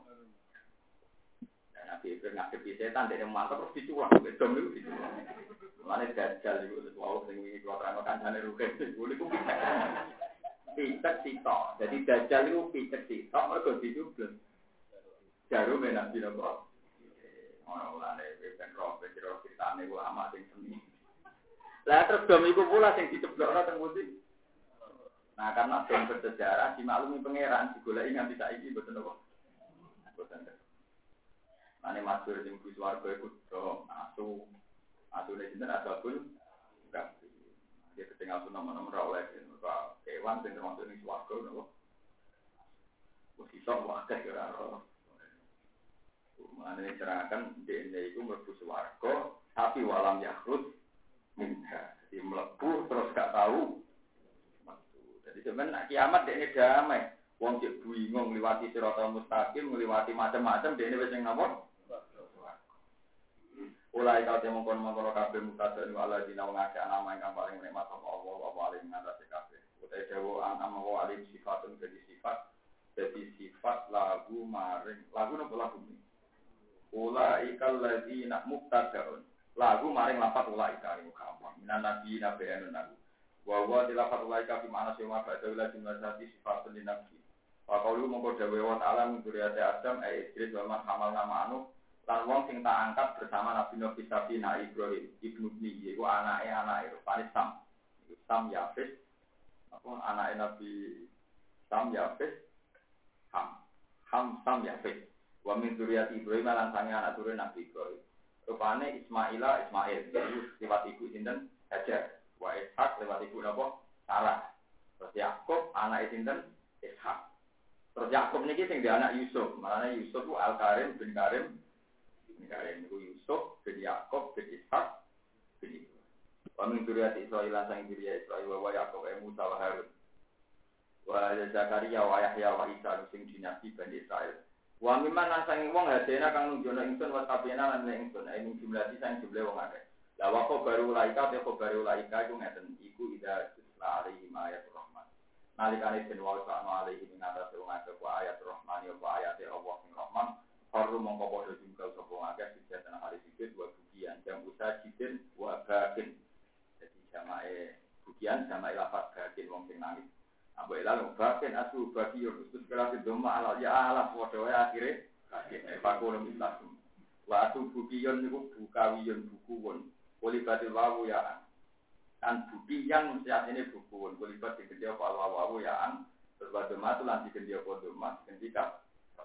Nabi Ibrahim ngadepi setan dene mantep terus diculak wedom niku diculak. Mulane dajal iku wau sing iki kuwi terang kancane rugen niku picek sitok. Jadi dajal itu picek sitok mergo dicubles. Jarum Nabi napa? Ora oleh ben roh ceritane ulama sing seni. Lah terus dom iku pula sing diceblokno teng pundi? Nah, karena dom bersejarah dimaklumi pangeran digoleki nganti saiki mboten napa. Mboten. Mane masyhur sing kuwi swarga iku dom asune sinten asabul kabeh. Dia ketinggal nama-nama oleh kewan sing termasuk ning swarga napa. Wis iso wae kira ora. Mane terangkan dene iku mlebu swarga tapi walam yakhrut minha. Jadi mlebu terus gak tahu. Jadi sebenarnya kiamat dene damai. Wong cek bingung ngliwati siratal mustaqim, ngliwati macam-macam dene wis ning napa? Ulai kau temu kon kabeh mutadun wala dina wong akeh ana ingkang paling nikmat apa Allah wa paling ngatasi kabeh. Utai dawa anam wa alim sifatun jadi sifat lagu maring lagu napa lagu ini? Ulai kal ladina muktadaun. Lagu maring lapat ulai kali gampang. Minan nabi nabiyanun nabi. Wa wa dilafat ulai ka fi ma'na sima ba'da ila jumlati sifatun linabi. Wa qaulu mongko dawe wa ta'ala min dzurriyyati Adam Idris wa man hamalna ma'anu lan wong sing tak angkat bersama Nabi Nabi Sabina Ibrahim ibnu Ni iku anake rupane Sam Yafis apa anake Nabi Sam Yafis Sam Yafis wa min dzurriyyati Ibrahim lan sange anak turun Nabi Ibrahim rupane Ismail itu lewat ibu sinten Hajar wa Ishak lewat ibu napa Sarah terus Yakub anake sinten Ishak. Terus Yakub niki sing dia anak Yusuf, makanya Yusuf ku Al-Karim bin Karim itu Yusuf bin Yakub bin Ishak bin Ibrahim. Wa min dzurriyyati Israil sang dzurriyyah Israil wa Yakub Musa wa Harun. Wa Zakaria wa Yahya wa Isa sing dinasti Bani Israil. Wa mimman lan sang wong hadena kang nunjukno ingsun wa tabena lan ingsun ing jumlati sang jumlah wong akeh. La wa baru laika te baru laika iku ngeten iku ida lari ayat rahman. Nalikane den wa ta'ala alaihi min atas wong akeh wa ayat rahman ya wa ayat Allah sing rahman haru mongko padha jungkal sapa akeh sejatan hari sujud wa bukian jam usaha jidin wa bakin. Jadi jamae bukian jamae lafaz bakin wong sing nangis. Ambo lalu bakin asu bagi yo khusus kelas doma ala ya ala padha wae akhire bakin pakul mitasum. Wa asu bukion niku bukawiyon bukuwon. Polibatil wawu ya kan bukti yang saat ini buku kulibat di kedua wawu ya an berbatu matu lanti kedua kodo mas ketika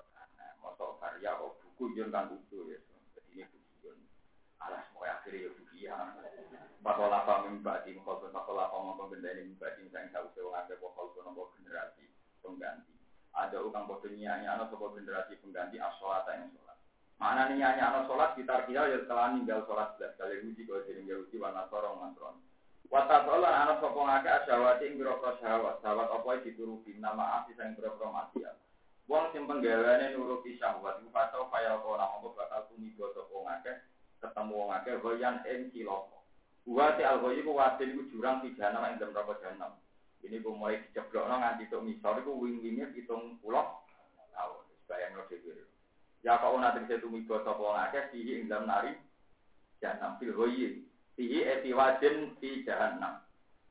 motor karya oh buku jon kan buku ya jadi ini buku jon alas mau akhirnya ya buku ya pakola pemimpati pakola ngomong benda ini mimpati misalnya tak usah ngake pokol nomor generasi pengganti ada ukang bodohnya anak sebuah generasi pengganti asolat yang sholat mana nih anak sholat kita kira ya setelah ninggal sholat kali uji kalau jadi uji warna sorong mantron. Watasolan anak sopong akeh asyawati ing biro-biro syahwat apa dituruti nama asih sing biro-biro maksiat. Wong sing penggaweane nuruti syahwat iku patau kaya ora mongko bakal tumiba sopong akeh ketemu wong akeh goyan ing cilaka. Buat al-ghayi ku wadin iku jurang pidana ing dalam neraka jahanam. Ini ku mulai diceblokno nganti tok misor iku wing-winge 70 tahun. Bayangno dhewe. Ya kok ana tegese tumiba sopong akeh dihi ing dalam nari jahanam fil ghayi. Fihi etiwadin fi jahannam.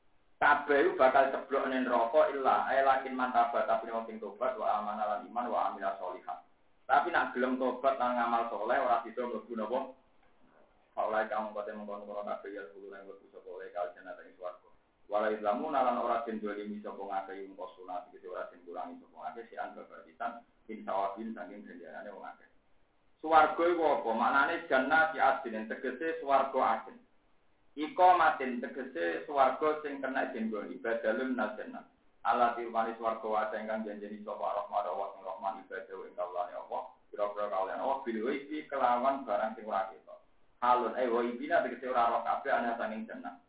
Kabeh bakal ceblok ning neraka illa lakin mantabat tapi wong sing tobat wa amana lan iman wa amila sholihan. Tapi nak gelem tobat lan ngamal saleh ora bisa mlebu napa? Paulai kamu kote mengkono kabeh ya kulo lan mlebu sapa oleh kaljana ing swarga. Wala islamu lan ora den dolimi sapa ngakeh mung sunat iki ora den kurangi sapa ngakeh si angga berditan bin sawabin saking ganjarane wong akeh. Swarga iku apa? Maknane jannah di adin tegese swarga adin. Iko matin tegese swarga sing kena jenggon ibadalun nasenna. Allah tirwani swarga wae ingkang janjeni sapa rahmat Allah sing rahman ibadah ing kawulane Allah. Kira-kira kawulane Allah bilwi kelawan barang sing ora ketok. Halun wa ibina tegese ora ora kabeh ana saking jannah.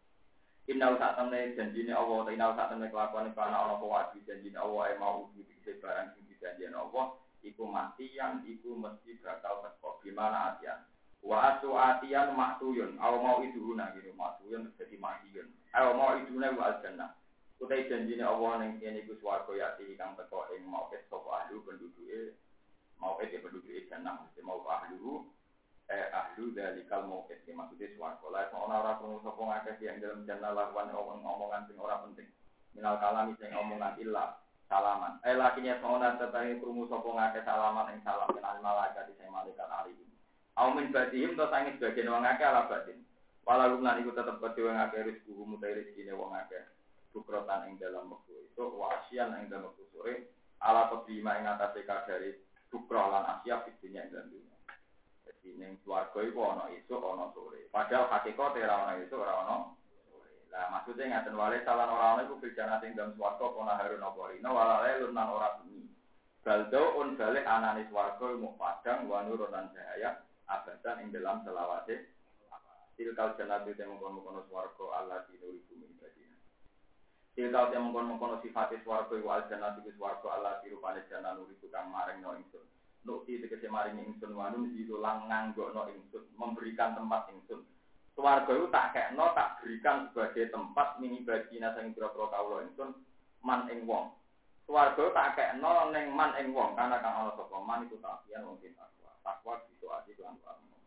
Inna sak temne janjine Allah ta inna sak temne kelakuane kana ana apa wae janjine Allah mau tegese barang sing dijanjeni Allah iku mati yang iku mesti bakal teko gimana atian. Wa asuatian maktuyun aw mau iduna gitu maktuyun jadi maktuyun aw mau iduna wa al-jannah utai janjine Allah ning kene iku swarga yati kang teko ing mau pet sapa ahli penduduke mau pet penduduke jannah mesti mau ahli ahli dalikal mau pet maksudnya swarga la ora krungu sapa ngakeh yang dalam jannah lawan omongan sing ora penting minal kalami sing omongan illa salaman lakinya sauna tetahe krungu sapa ngakeh salaman ing salam kenal malaikat sing malaikat ali Aumin badihim to sangit bagian wong akeh ala batin. Walau lan iku tetep kedhe wong akeh rezeki mutai rezekine wong akeh. Bukrotan ing dalam wektu itu wasian ing dalam wektu sore ala kedima ing atase kadare bukro lan asia fitnya ing dalam dunia. Jadi ning swarga iku ana esuk ana sore. Padahal hakikate ora ana esuk ora ana sore. Lah maksudnya ngaten wale salan ora ana iku bijana ing dalam swarga ana harun apa rino walale lan ora bumi. Baldo on balik anane swarga mu padang wa nurun lan cahaya. Abadan ing dalam selawase tilkal jannatu te mongkon-mongkon swarga Allah dinuri bumi badina Tilkal yang mengkono sifatis warga wa aljannah tikus warga Allah dirupane jannah nuri tukang maring no ingsun. Nukti tegese maring ingsun wanun diulang nganggokno ingsun, memberikan tempat ingsun. Swarga itu tak kekno tak berikan sebagai tempat mini bagina sing pira-pira kawula ingsun man ing wong. Swarga tak kekno ning man ing wong karena kang ana sapa man iku takian wong sing takwa. Takwa gitu ati lan